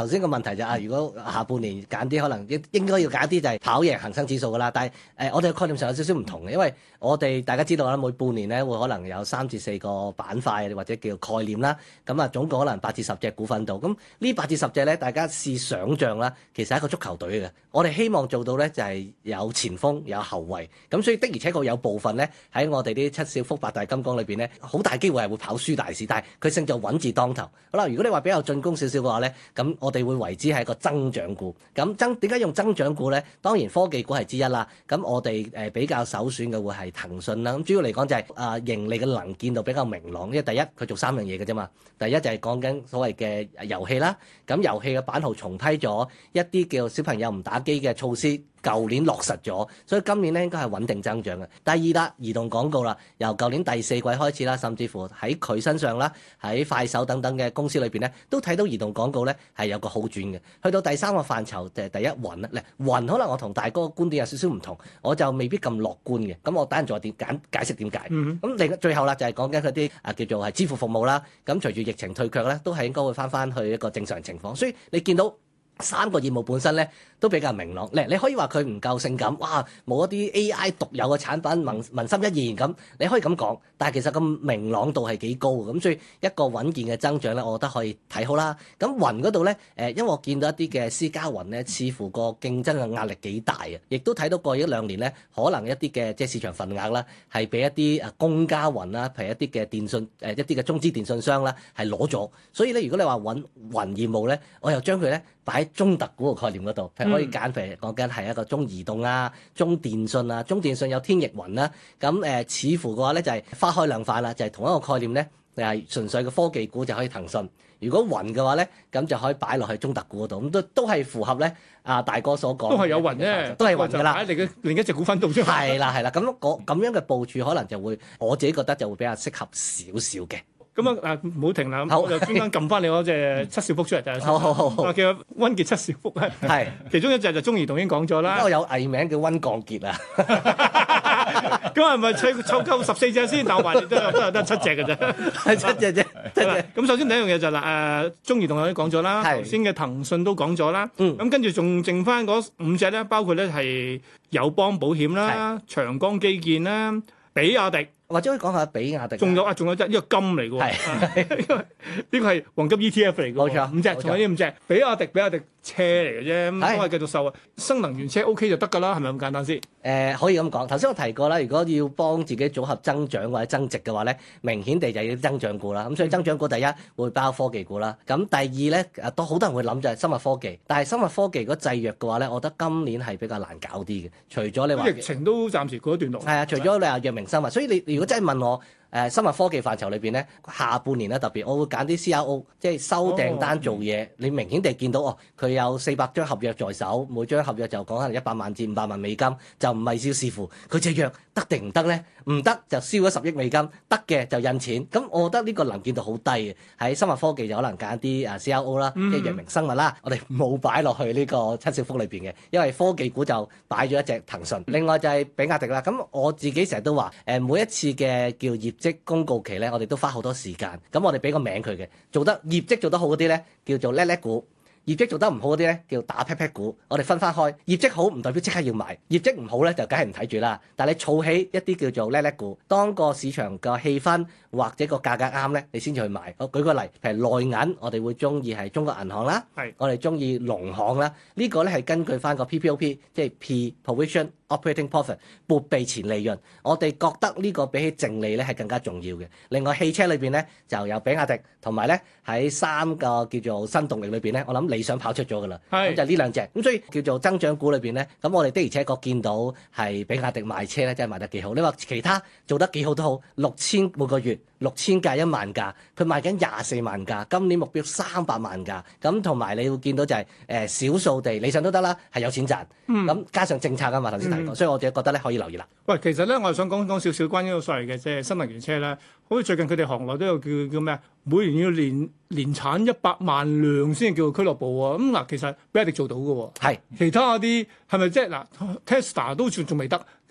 頭先個問題就如果下半年揀啲可能應該要揀啲就係跑贏恒生指數㗎啦。但係我哋嘅概念上有少少唔同嘅，因為我哋大家知道啦，每半年咧會可能有3至4個板塊或者叫概念啦。咁啊總共可能8至10隻股份度。咁呢8至10隻咧，大家試想像啦，其實係一個足球隊嘅。我哋希望做到咧就係有前鋒有後衞。咁所以的而且確有部分咧喺我哋啲七小福八大金剛裏邊咧，好大機會係會跑輸大市，但係佢勝在穩字當頭。好啦，如果你話比較進攻少少嘅話咧，咁我哋會為之係一個增長股。咁點解用增長股咧？當然科技股係之一啦。咁我哋比較首選嘅會係騰訊啦。咁主要嚟講就係盈利嘅能見度比較明朗，因為第一佢做3樣嘢嘅啫嘛。第一就係講緊所謂嘅遊戲啦。咁遊戲嘅版號重批咗一啲叫小朋友唔打機嘅措施。舊年落實咗，所以今年咧應該係穩定增長嘅。第二啦，移動廣告啦，由舊年第4季開始啦，甚至乎喺佢身上啦，喺快手等等嘅公司裏邊咧，都睇到移動廣告咧係有個好轉嘅。去到第3個範疇就係第一雲啦。雲可能我同大哥嘅觀點有少少唔同，我就未必咁樂觀嘅。咁我等陣再解釋點解。咁最後啦就係講緊佢啲叫做係支付服務啦。咁隨住疫情退卻咧，都係應該會翻去一個正常情況。所以你見到3個業務本身咧都比較明朗，你可以話佢唔夠性感，哇冇一啲 AI 獨有嘅產品，文心一言咁，你可以咁講，但係其實個明朗度係幾高嘅，咁所以一個穩健嘅增長咧，我覺得可以睇好啦。咁雲嗰度咧，因為我見到一啲嘅私家雲咧，似乎個競爭嘅壓力幾大啊，亦都睇到過去1-2年咧，可能一啲嘅即係市場份額啦，係俾一啲公家雲啦，譬如一啲嘅電信一啲嘅中資電信商啦，係攞咗。所以咧，如果你話揾雲業務咧，我又將佢咧擺喺中特股嘅概念嗰度，譬如可以揀，譬如講緊係一個中移動啊、中電信啊、中電信有天翼雲啦。咁似乎嘅話咧就係花開兩塊啦，就係同一個概念咧，係純粹嘅科技股就可以騰訊。如果雲嘅話咧，咁就可以擺落去中特股嗰度，咁都係符合咧大哥所講， 都係有雲啫， 都係雲㗎啦。 擺喺另一隻股份度啫。 係啦，咁樣嘅部署可能就會，我自己覺得就會比較適合少少嘅。 咁唔好停啦，我就專登撳翻你嗰隻七小福出嚟睇下先。好，叫溫傑七小福啊。係，其中一隻就中移動已經講咗啦。 我有藝名叫溫鋼傑啊。 咁係咪湊夠14隻先？但我話你都有得7隻嘅啫， 係7隻啫。 咁首先第一樣嘢就係中移動已經講咗啦，頭先嘅騰訊都講咗啦。咁跟住仲剩翻嗰5隻咧，包括咧係友邦保險啦、長江基建啦、比亞迪。 或者可以講下比亞迪， 仲有隻呢個金嚟嘅喎，呢個係黃金 ETF 嚟嘅，冇錯，5隻，仲有呢5隻，比亞迪車嚟嘅啫，咁都係繼續受啊。新能源車 OK 就得㗎啦，係咪咁簡單先？ 可以咁講。頭先我提過啦，如果要幫自己組合增長或者增值嘅話咧，明顯地就要增長股啦。咁所以增長股第一會包科技股啦。咁第二咧，都好多人會諗就係生物科技，但係生物科技如果制約嘅話咧，我覺得今年係比較難搞啲嘅。除咗你話疫情都暫時告一段落。係除咗你話藥明生物，所以你如果真係問我，生物科技範疇裏邊咧，下半年咧特別，我會揀啲 CRO，即係收訂單做嘢。你明顯地見到佢有400張合約在手，每張合約就講可能100萬至500萬美金，就唔係要視乎佢隻藥得定唔得咧？唔得就燒咗10億美金，得嘅就印錢。咁我覺得呢個能見度好低嘅。喺生物科技就可能揀啲CRO 啦，即係藥明生物啦。我哋冇擺落去呢個七小福裏邊嘅，因為科技股就擺咗一隻騰訊。另外就係比亞迪啦。咁我自己成日都話每一次嘅叫業績公告期咧，我哋都花好多時間。咁我哋俾個名佢嘅，業績做得好嗰啲咧，叫做叻叻股。業績做得唔好嗰啲咧，叫打 pat pat 股。我哋分開，業績好唔代表即刻要買，業績唔好咧就梗係唔睇住啦。但係你儲起一啲叫做叻叻股，當個市場個氣氛或者個價格啱咧，你先至去買。我舉個例，譬如內銀，我哋會中意係中國銀行啦，我哋中意農行啦。呢個咧係根據翻個 PPOP，即係 Pre-Provision Operating Profit 撥備前利潤。我哋覺得呢個比起淨利咧係更加重要嘅。另外汽車裏邊咧就有比亞迪，同埋咧喺3個叫做新動力裏邊咧，我諗理想跑出咗㗎啦。咁就呢2隻。咁所以叫做增長股裏邊咧，咁我哋的而且確見到係比亞迪賣車咧，真係賣得幾好。你話其他做得幾好都好，6000每個月，6000架1萬架，佢賣緊24萬架，今年目標300萬架。咁同埋你會見到就係少數地理想都得啦，係有錢賺。咁加上政策啊嘛，頭先提過，所以我自己覺得咧可以留意啦。 喂，其實咧我係想講少少關於個所謂嘅即係新能源車啦。好似最近佢哋行內都有叫咩啊？每年要年產100萬輛先叫俱樂部喎。其實比亞迪做到嘅喎。係其他嗰啲係咪即係Tesla 都仲未得？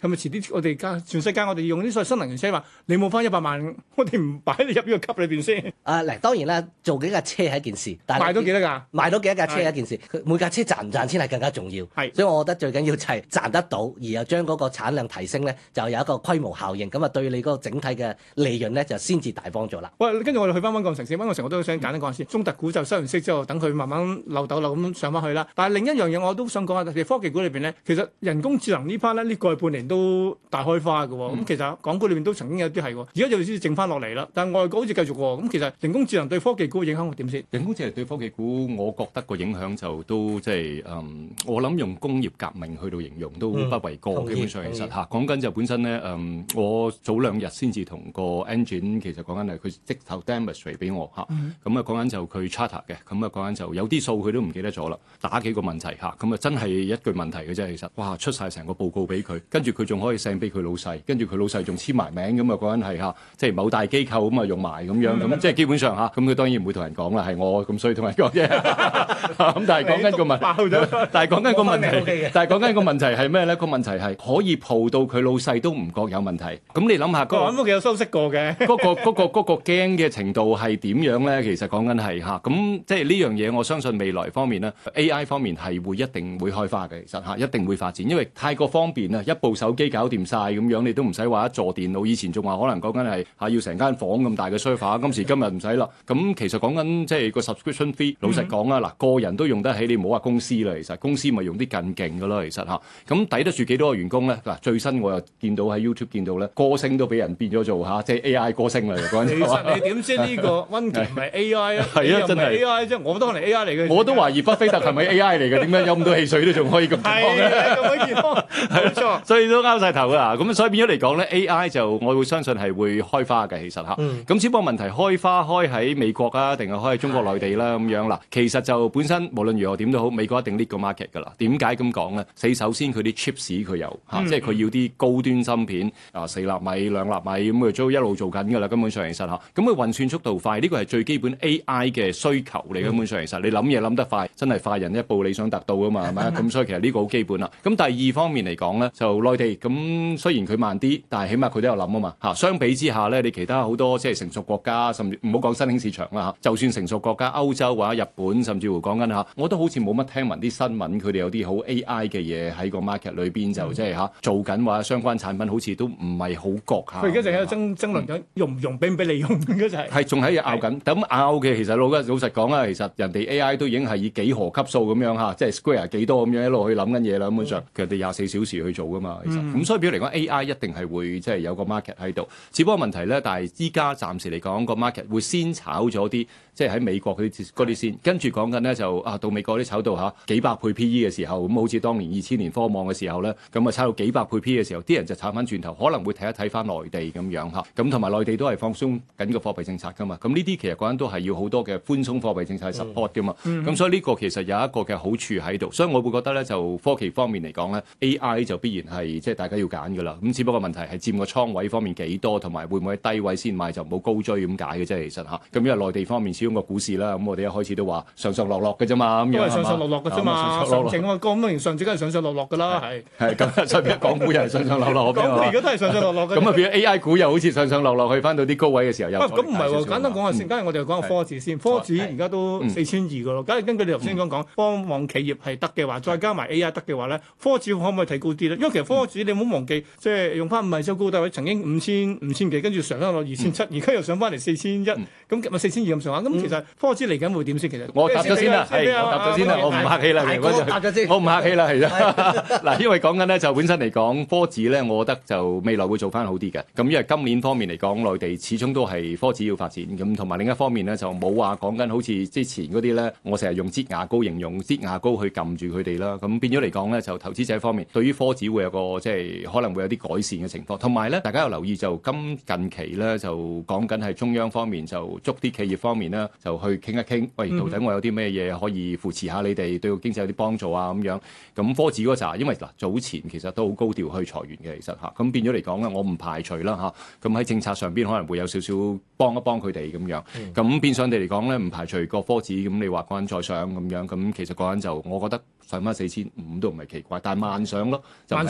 係咪遲啲我哋全世界我哋用啲所謂新能源車話，你冇翻100萬，我哋唔擺你入呢個級裏邊先。 嗱，當然啦，做幾架車係一件事，但係賣到幾多㗎？ 賣到幾多架車係一件事，佢每架車賺唔賺錢係更加重要。 係， 所以我覺得最緊要就係賺得到，而又將嗰個產量提升咧，就有一個規模效應，咁啊對你嗰個整體嘅利潤咧就先至大幫助啦。 喂，跟住我哋去翻溫鋼城先，溫鋼城我都想簡單講下先。中特股就收完息之後，等佢慢慢漏斗漏咁上翻去啦。但係另一樣嘢我都想講下，特別科技股裏邊咧，其實人工智能呢 part 咧呢個半年都大開花嘅喎。咁其實港股裏邊都曾經有啲係喎，而家就先剩翻落嚟啦。但係外國好似繼續喎。咁其實人工智能對科技股嘅影響會點先？ 人工智能對科技股，我覺得個影響就都即係我諗用工業革命去到形容都不為過。基本上其實嚇講緊就本身咧我早2日先至同個 engine 其實講緊係佢即頭 demonstrate 俾我嚇。咁啊講緊就佢 charter 嘅，咁啊講緊就有啲數佢都唔記得咗啦，打幾個問題嚇，咁啊真係一句問題嘅啫。其實哇出晒成個報告俾佢，跟住佢仲可以 send 俾佢老細，跟住佢老細仲簽埋名，咁啊講緊係嚇，即係某大機構咁啊用埋咁樣，咁即係基本上嚇，咁佢當然唔會同人講啦，係我咁衰同人講啫。咁但係講緊個問，但係講緊個問題，但係講緊個問題係咩咧？個問題係可以蒲到佢老細都唔覺有問題。咁你諗下我諗都幾有修飾過嘅。 嗰個驚嘅程度係點樣咧？其實講緊係嚇，咁即係呢樣嘢，我相信未來方面咧 ，AI 方面係一定會開花嘅。其實嚇，一定會發展，因為太過方便啦，一部手機搞掂晒咁樣，你都唔使話一座電腦。以前仲話可能講緊係嚇要成間房咁大嘅 server，今時今日唔使啦。咁其實講緊即係個 subscription fee，老實講啊，嗱個人都用得起，你唔好話公司啦。其實公司咪用啲更勁嘅咯。其實嚇，咁抵得住幾多個員工咧？嗱最新我又見到喺 YouTube 見到咧，歌星都俾人變咗做嚇，即係 AI 歌星啦。講緊其實你點知呢個溫傑唔係 AI 啊？ 係啊，真係 AI 啫，我都可能 AI 嚟嘅。 我都懷疑巴菲特係咪 AI 嚟嘅？點解飲咁多汽水都仲可以咁健康嘅？ 咁健康，冇錯。 所以都拗晒頭㗎。咁所以變咗嚟講咧 ，AI 就我會相信係會開花嘅。其實嚇，咁只不過問題開花開喺美國啊，定係開喺中國內地啦咁樣啦。其實就本身無論如何點都好，美國一定 lead 個 market 㗎啦。點解咁講咧？首先佢啲 chips 佢有嚇，即係佢要啲高端芯片啊，4納米、2納米咁佢都一路做緊㗎啦。根本上其實嚇，咁佢運算速度快，呢個係最基本 AI 嘅需求嚟。根本上其實你諗嘢諗得快，真係快人一步，理想達到㗎嘛，係咪？咁所以其實呢個好基本啦。咁第二方面嚟講咧，就內地咁雖然佢慢啲，但係起碼佢都有諗啊嘛嚇。相比之下咧，你其他好多即係成熟國家，甚至唔好講新興市場啦嚇，就算成熟國家歐洲或者日本，甚至乎講緊嚇，我都好似冇乜聽聞啲新聞，佢哋有啲好 AI 嘅嘢喺個 market 裏邊就即係嚇做緊或者相關產品，好似都唔係好覺嚇。 佢而家就喺度爭論緊用唔用，俾唔俾你用嘅就係。 係仲喺度拗緊，咁拗嘅其實老實講啦，其實人哋 AI 都已經係以幾何級數咁樣嚇，即係 square 幾多咁樣一路去諗緊嘢啦。根本上佢哋24小時去做噶嘛，其實咁所以表嚟講 AI 一定係會即係有個 market 喺度。只不過問題咧，但係依家暫時嚟講個 market 會先炒咗啲，即係喺美國嗰啲先，跟住講緊咧就到美國啲炒到嚇幾百倍 PE 嘅時候，咁好似當年2000年科網嘅時候咧，咁啊炒到幾百倍 PE 嘅時候，啲人就炒翻轉頭，可能會睇一睇翻內地咁樣嚇，咁同埋內地都係放鬆緊個貨幣政策噶嘛，咁呢啲其實講緊都係要好多嘅寬鬆貨幣政策去 support 噶嘛，咁所以呢個其實有一個嘅好處喺度，所以我會覺得咧就科技方面嚟講咧 AI 就必然係即係大家要揀噶啦，咁只不過問題係佔個倉位方面幾多，同埋會唔會喺低位先買就唔好高追咁解嘅啫，其實嚇，咁因為內地方面始終個股市啦，咁我哋一開始都話上上落落嘅啫嘛，咁樣都係上上落落嘅啫嘛，上證啊，咁多年上證梗係上上落落㗎啦，係咁，所以港股又係上上落落， 港股而家都係上上落落嘅。 咁啊變咗 AI 股又好似上上落落去翻到啲高位嘅時候又咁唔係喎，簡單講下先，今日我哋講下科指先，科指而家都4200㗎咯。假如根據你頭先講，科網企業係得嘅話，再加埋 AI 得嘅話咧，科指可唔可以提高啲咧？因為其實科指你唔好忘記，即係用翻唔係周高低位，曾經5000幾，跟住上翻落2700，而家又上翻嚟4100，咁咪4200咁上下。咁其實科指嚟緊會點先？其實我答咗先啦，我答咗先啦，我唔客氣啦，我唔客氣啦，係啦。嗱，因為講緊咧就本身嚟講，科指咧，我覺得就未來會做翻好啲嘅。咁因為今年方面嚟講，內地始終都係科指要發展，咁同埋另一方面咧就冇話講緊好似之前嗰啲咧，我成日用擠牙膏形容擠牙膏去撳住佢哋啦。咁變咗嚟講咧，就投資者方面對於科指會有個即係可能會有啲改善嘅情況。同埋咧，大家有留意就近期咧就講緊係中央方面就捉啲企業方面咧就去傾一傾，喂，到底我有啲咩嘢可以扶持下你哋，對個經濟有啲幫助啊咁樣。咁科指嗰扎，因為嗱早前其實都好高調去裁員嘅，其實嚇，咁變咗嚟講咧，我唔排除啦嚇。咁喺政策上邊可能會有少少幫一幫佢哋咁樣。咁變相地嚟講咧，唔排除個科指咁你話嗰陣再上咁樣，咁其實嗰陣就我覺得上翻4500都唔係奇怪，但係慢上咯，就唔係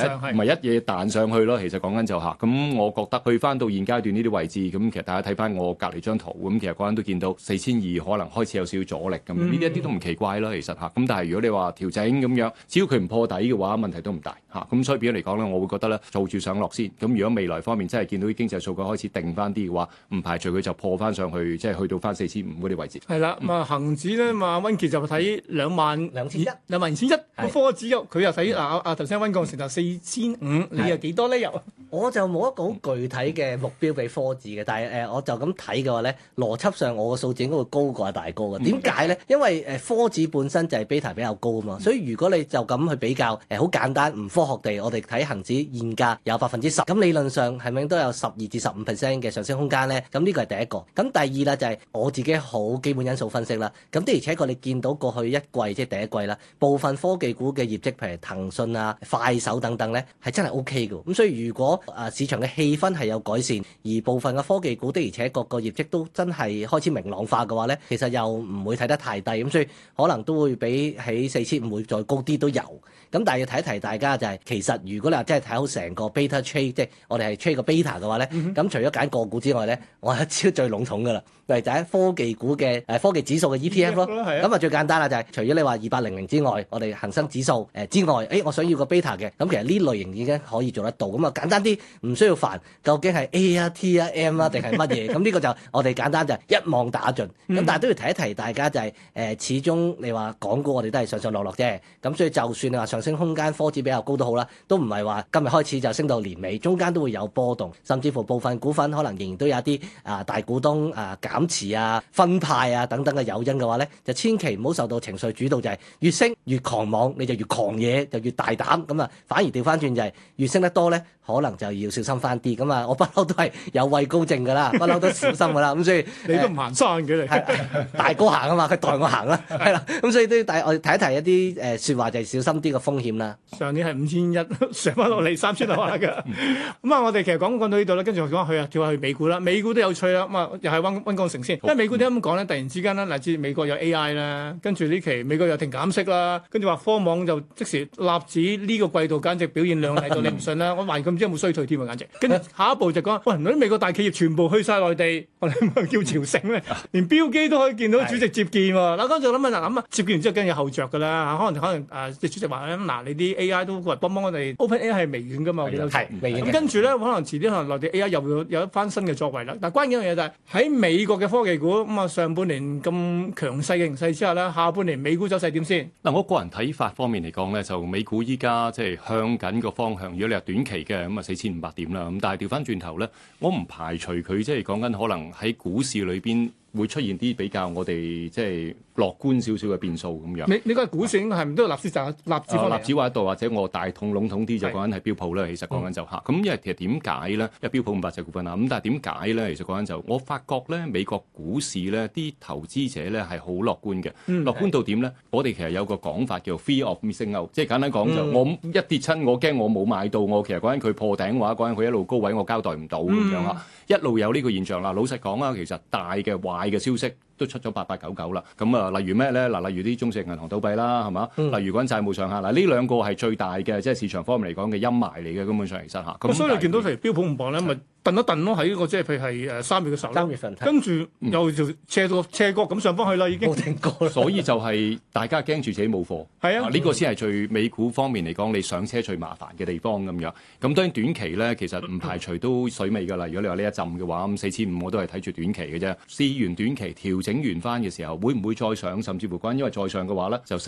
係一嘢彈上去咯。其實講緊就嚇，咁我覺得去翻到現階段呢啲位置，咁其實大家睇翻我隔離張圖，咁其實嗰陣都見到4200可能開始有少少阻力咁，呢啲一啲都唔奇怪啦。其實嚇，咁但係如果你話調整咁樣，只要佢唔破底嘅話，問題都唔大嚇。咁所以變咗嚟講咧，我會覺得咧做住上落先。咁如果未來方面真係見到啲經濟數據開始定翻啲嘅話，唔排除佢就破翻上去，即係去到翻4500嗰啲位置。 係啦，咁啊恆指咧，嘛溫傑就睇22100，22100個科指佢又睇頭先溫鋼城就4500，你又幾多咧？又我就冇一個好具體嘅目標俾科指嘅，但係我就咁睇嘅話咧，邏輯上我個數字應該會高過阿大哥嘅。點解咧？因為科指本身就係 beta 比較高啊嘛，所以如果你就咁去比較好簡單唔科學地，我哋睇恆指現價有10%，咁理論上係咪都有12至15%嘅上升空間咧？咁呢個係第一個。咁第二啦就係我自己好基本因素分析啦。咁的而且確你見到過去一季即係第一季啦，部分科技股嘅業績，譬如騰訊啊、快手等等咧，係真係 OK 嘅。咁所以如果市場嘅氣氛係有改善，而部分嘅科技股的而且確個業績都真係開始明朗化嘅話咧，其實又唔會睇得太低。咁所以可能都會比起4500會再高啲都有。咁但係要提一提大家就係，其實如果你話真係睇好成個 beta trade，即係我哋係 trade 個 beta 嘅話咧，咁除咗揀個股之外咧，我係一招最籠統㗎啦，就係科技股嘅科技指數嘅 ETF 咯。咁最簡單啦，就係除咗你話2800之外，我哋恒生指數之外，我想要個 beta 嘅，咁其實呢類型已經可以做得到。咁簡單啲，唔需要煩，究竟係 A 啊 T 啊 M 啊定係乜嘢？咁呢個就我哋簡單就係一網打盡。咁但係都要提一提大家就係始終你話港股我哋都係上上落落啫。咁所以就算你話上升空間科指比較高都好啦，都唔係話今日開始就升到年尾，中間都會有波動，甚至乎部分股份可能仍然都有一啲大股東減持啊、分派啊等等嘅誘因嘅話咧，就千祈唔好受到情緒主導，就係越升越狂妄，你就越狂野，就越大膽。咁反而調翻轉就係越升得多咧，可能就要小心翻啲。咁我不嬲都係有畏高症㗎啦，不嬲都小心㗎啦。咁所以你都唔行山嘅你， 大哥行啊嘛，佢代我行啦，係啦。咁所以都要我睇一提一啲説話，就係小心啲個風險啦。 上年係5100上翻落嚟3000樓下㗎。咁我哋其實講到呢度咧，跟住我講跳下去美股啦。美股都有趣啦。咁又係溫鋼城先。因為美股點解咁講咧？突然之間咧，乃至美國有 AI 啦，跟住呢期美國又停減息啦，跟住話科網就即時納指呢個季度簡直表現亮麗到你唔信啦。我懷疑佢唔知有冇衰退添啊，簡直。跟住下一步就講，喂，啲美國大企業全部去晒內地，我哋咪叫朝聖咧，連標機都可以見到主席接見喎。嗱，嗰陣諗啊，接見完之後跟住有後着㗎啦。可能主席話你啲 AI 都過嚟幫我哋 OpenAI 係微軟㗎嘛，我記得係微軟。咁跟住咧，可能遲啲可能內地 AI 又會有一番新嘅作為啦。但關鍵一樣嘢就係喺美國嘅科技股上半年咁強勢嘅形勢之下咧，下半年美股走勢點先？ 嗱，我個人睇法方面嚟講咧，就美股依家即係向緊個方向。如果你話短期嘅咁4500點啦，咁但係調翻轉頭咧，我唔排除佢即係講緊可能喺股市裏邊會出現啲比較我哋即係樂觀少少嘅變數咁樣。 你個股市應該係唔都要納指方面？ 納指或者或者我大統籠統啲就講緊係標普啦。其實講緊就嚇，咁因為其實點解咧？因為標普500隻股份啦，咁但係點解咧？其實講緊就我發覺咧，美國股市咧啲投資者咧係好樂觀嘅。樂觀到點咧？我哋其實有個講法叫 fear of missing out，即係簡單講就我一跌親，我驚我冇買到，我其實講緊佢破頂嘅話，講緊佢一路高位，我交代唔到咁樣啊，一路有呢個現象啦。老實講啊，其實大嘅壞嘅消息都出咗8899啦，咁例如咩咧？嗱，例如啲中石銀行倒閉啦，係嘛？例如講債務上限，嗱呢兩個係最大嘅，即係市場方面嚟講嘅陰霾嚟嘅，根本上其實嚇。咁所以你見到譬如標普500咧，咪頓一頓咯，喺呢個即係譬如係3月嘅時候，3月份，跟住又就斜角咁上翻去啦，已經冇停過。 所以就係大家驚住自己冇貨，係啊，呢個先係最美股方面嚟講，你上車最麻煩嘅地方咁樣。咁當然短期咧，其實唔排除都水尾㗎啦。如果你話呢一陣嘅話，咁4500我都係睇住短期嘅啫。試完短期調整完翻嘅時候，會唔會再上？甚至乎因為再上嘅話咧，就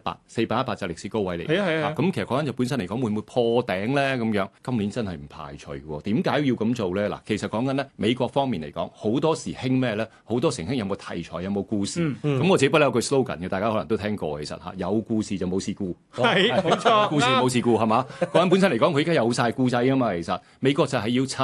4818就歷史高位嚟。係啊。咁其實講緊就本身嚟講，會唔會破頂咧？咁樣今年真係唔排除喎。點解要咁做咧？嗱，其實講緊咧美國方面嚟講，好多時興咩咧？好多時興有冇題材，有冇故事。咁我自己不嬲有句 slogan 嘅，大家可能都聽過。其實嚇有故事就冇事故。 係冇錯。 故事冇事故係嘛？講緊本身嚟講，佢而家有晒故仔啊嘛。其實美國就係要趁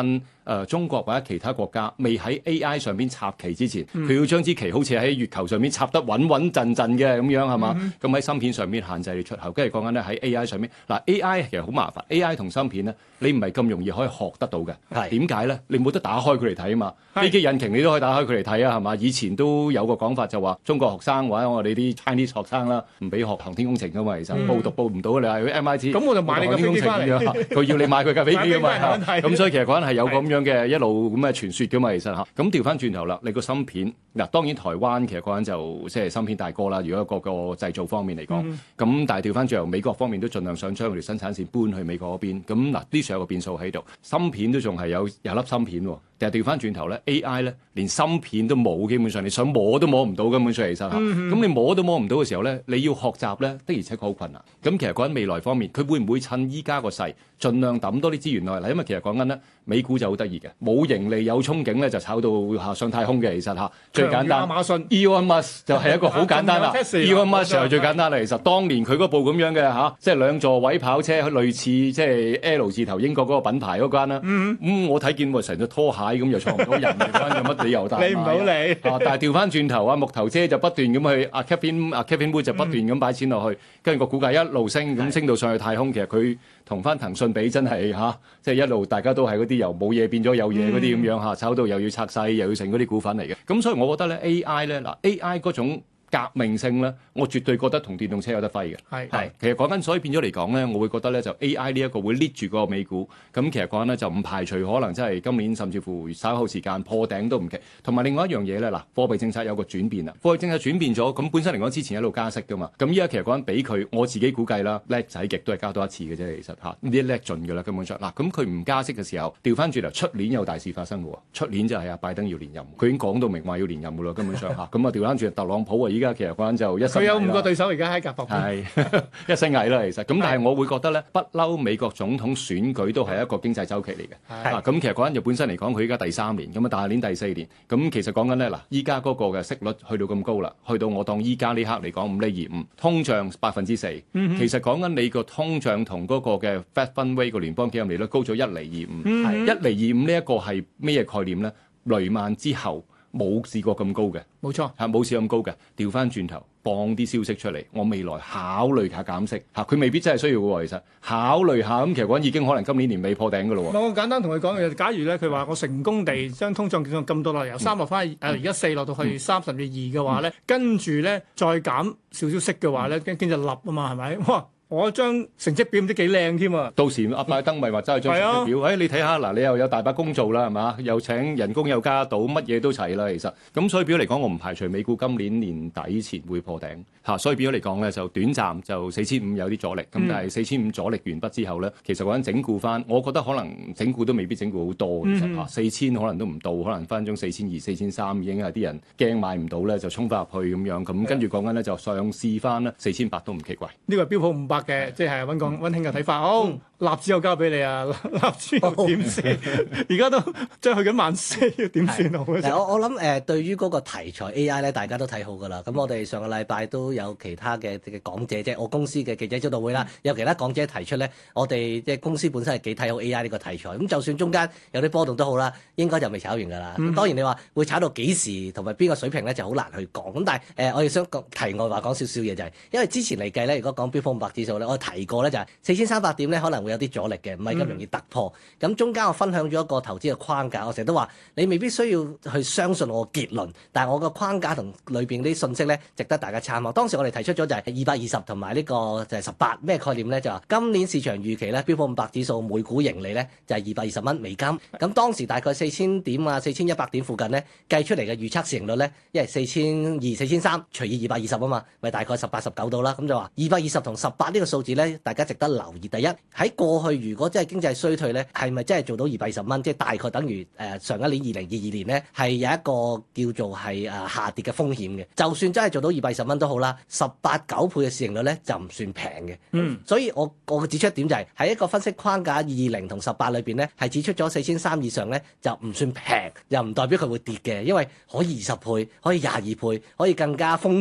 中國或者其他國家未喺 AI 上邊插旗之前，佢要將支旗好似喺月球上面插得穩穩陣陣嘅咁樣係嘛？咁喺芯片上面限制你出口，跟住講緊咧喺 AI 上面嗱 AI 其實好麻煩 ，AI 同芯片咧你唔係咁容易可以學得到嘅。點解咧？你冇得打開佢嚟睇啊嘛。飛機引擎你都可以打開佢嚟睇啊，係嘛？以前都有個講法就話中國學生或者我哋啲 Chinese 學生啦，唔俾學航天工程噶嘛，其實報唔到你話去 MIT， 咁我就買你架飛機翻嚟， 佢要你買佢架飛機噶嘛。咁所以其實嗰陣係有咁樣嘅一路咁嘅傳說噶嘛，其實嚇。咁調翻轉頭啦，你個芯片嗱，當然台灣其實嗰陣就即係芯片大哥啦。如果個製造方面嚟講，咁但係調翻轉頭美國方面都盡量想將佢哋生產線搬去美國嗰邊。咁嗱，呢處有個變數喺度，芯片都仲係有粒芯片喎。但係調翻轉頭咧 ，AI 咧連芯片都冇，基本上你想摸都摸唔到，根本上其實嚇。咁你摸都摸唔到嘅時候咧，你要學習咧的而且確好困難。咁其實講緊未來方面，佢會唔會趁依家個勢，盡量抌多啲資源落嚟？因為其實講緊咧，美股就好得意嘅，冇盈利有憧憬咧，就炒到上太空嘅。其實嚇最簡單， 亞馬遜 Elon Musk 就係一個好簡單啦。Elon Musk 就係最簡單啦。其實當年佢嗰部咁樣嘅即係兩座位跑車，類似即係 L 字頭英國嗰個品牌嗰間啦。我睇見成隻拖鞋咁又坐唔到人，有乜理由大買？ 你唔好理。 但係調翻轉頭木頭車就不斷咁去Kevin Wood 就不斷咁擺錢落去，跟住個股價一路升，咁升到上去太空。其實佢同翻騰訊比真係即係一路大家都係嗰啲由冇嘢變咗有嘢嗰啲咁樣炒到又要拆細又要成嗰啲股份嚟嘅。咁所以我覺得咧 AI 咧AI 嗰種革命性咧，我絕對覺得同電動車有得揮嘅。係，其實講緊，所以變咗嚟講咧，我會覺得咧就 AI 呢一個會 lead 住個美股。咁其實講緊咧就唔排除可能真係今年甚至乎稍後時間破頂都唔奇。同埋另外一樣嘢咧，貨幣政策有個轉變啦。貨幣政策轉變咗，咁本身嚟講之前一路加息噶嘛。咁依家其實講緊俾佢，我自己估計啦，叻仔極都係加多一次嘅啫。其實呢啲叻盡㗎啦，根本上嗱。咁佢唔加息嘅時候，調翻轉頭出年有大事發生嘅喎。出年就係拜登要連任，佢已經講到明話要連任㗎啦，根本上咁調翻轉特朗普依家其實講緊就佢有5個對手而家喺夾薄， 係一身蟻啦，其實咁，但係我會覺得咧，不嬲美國總統選舉都係一個經濟週期嚟嘅。咁其實講緊就本身嚟講，佢依家第3年，咁大年第4年，咁其實講緊咧依家嗰個嘅息率去到咁高啦，去到我當依家呢刻嚟講5.25%，通脹4%，其實講緊你個通脹同嗰個嘅 Fed Fund Rate 個聯邦基金利率高咗1.25%，1.25%呢一個係咩概念咧？雷曼之後冇試過咁高嘅， 冇錯冇試咁高嘅。調翻轉頭，放啲消息出嚟，我未來考慮下減息佢未必真係需要嘅喎。其實考慮下咁，其實講已經可能今年年尾破頂嘅咯喎。 我簡單同佢講嘅，假如咧佢話我成功地將通脹降咁多啦，由3落翻而家4落到去3甚至2嘅話咧，跟住咧再減少少息嘅話咧，經濟立啊嘛，係咪？哇！我張成績表唔知幾靚添啊！ 到時阿拜登咪話揸張成績表，你睇下嗱，你又有大把工做啦，係嘛？又請人工又加到，乜嘢都齊啦，其實。咁所以表嚟講，我唔排除美股今年年底前會破頂所以表嚟講咧，就短暫就4500有啲阻力。咁但係4500阻力完畢之後咧，其實嗰陣整固翻，我覺得可能整固都未必整固好多。其實4000可能都唔到，可能分鐘4200、4300已經係啲人驚買唔到咧，就衝翻入去咁樣。咁跟住講緊咧就上試翻啦，4800都唔奇怪。 呢個係標普500嘅，即係溫馨嘅睇法。好，納指又交俾你啊，納指又點先？而家都即係去緊14000，點算好？ 我諗對於嗰個題材 AI 咧，大家都睇好㗎啦。咁我哋上個禮拜都有其他嘅講者，即係我公司嘅記者招待會啦，有其他講者提出咧，我哋即係公司本身係幾睇好 AI 呢個題材。咁就算中間有啲波動都好啦，應該就未炒完㗎啦。咁當然你話會炒到幾時同埋邊個水平咧，就好難去講。咁但係我哋想講題外話講少少嘢就係，因為之前嚟計咧，如果講標普500指數咧，我提過咧就係4300點咧可能會有啲阻力嘅，唔係咁容易突破。咁中間我分享咗一個投資嘅框架，我成日都話你未必需要去相信我嘅結論，但係我個框架同裏邊啲信息咧值得大家參考。當時我哋提出咗就係220同埋呢個就係18，咩概念咧？就話今年市場預期咧標普500指數每股盈利咧就係220蚊美金。咁當時大概4000點啊4100點附近咧計出嚟嘅預測市盈率咧，因為4200、4300除以220啊嘛，咪大概18、19度啦。咁就話220同18呢個數字咧，大家值得留意。第一，喺過去如果真係經濟衰退咧，係咪真係做到220蚊？即係大概等於上一年2022年咧係有一個叫做係下跌嘅風險嘅。就算真係做到220蚊都好啦，18、9倍嘅市盈率咧就唔算平嘅。所以我指出一點就係喺一個分析框架20同18裏邊咧，係指出咗4300以上咧就唔算平，又唔代表佢會跌嘅，因為可以20倍，可以22倍，可以更加瘋狂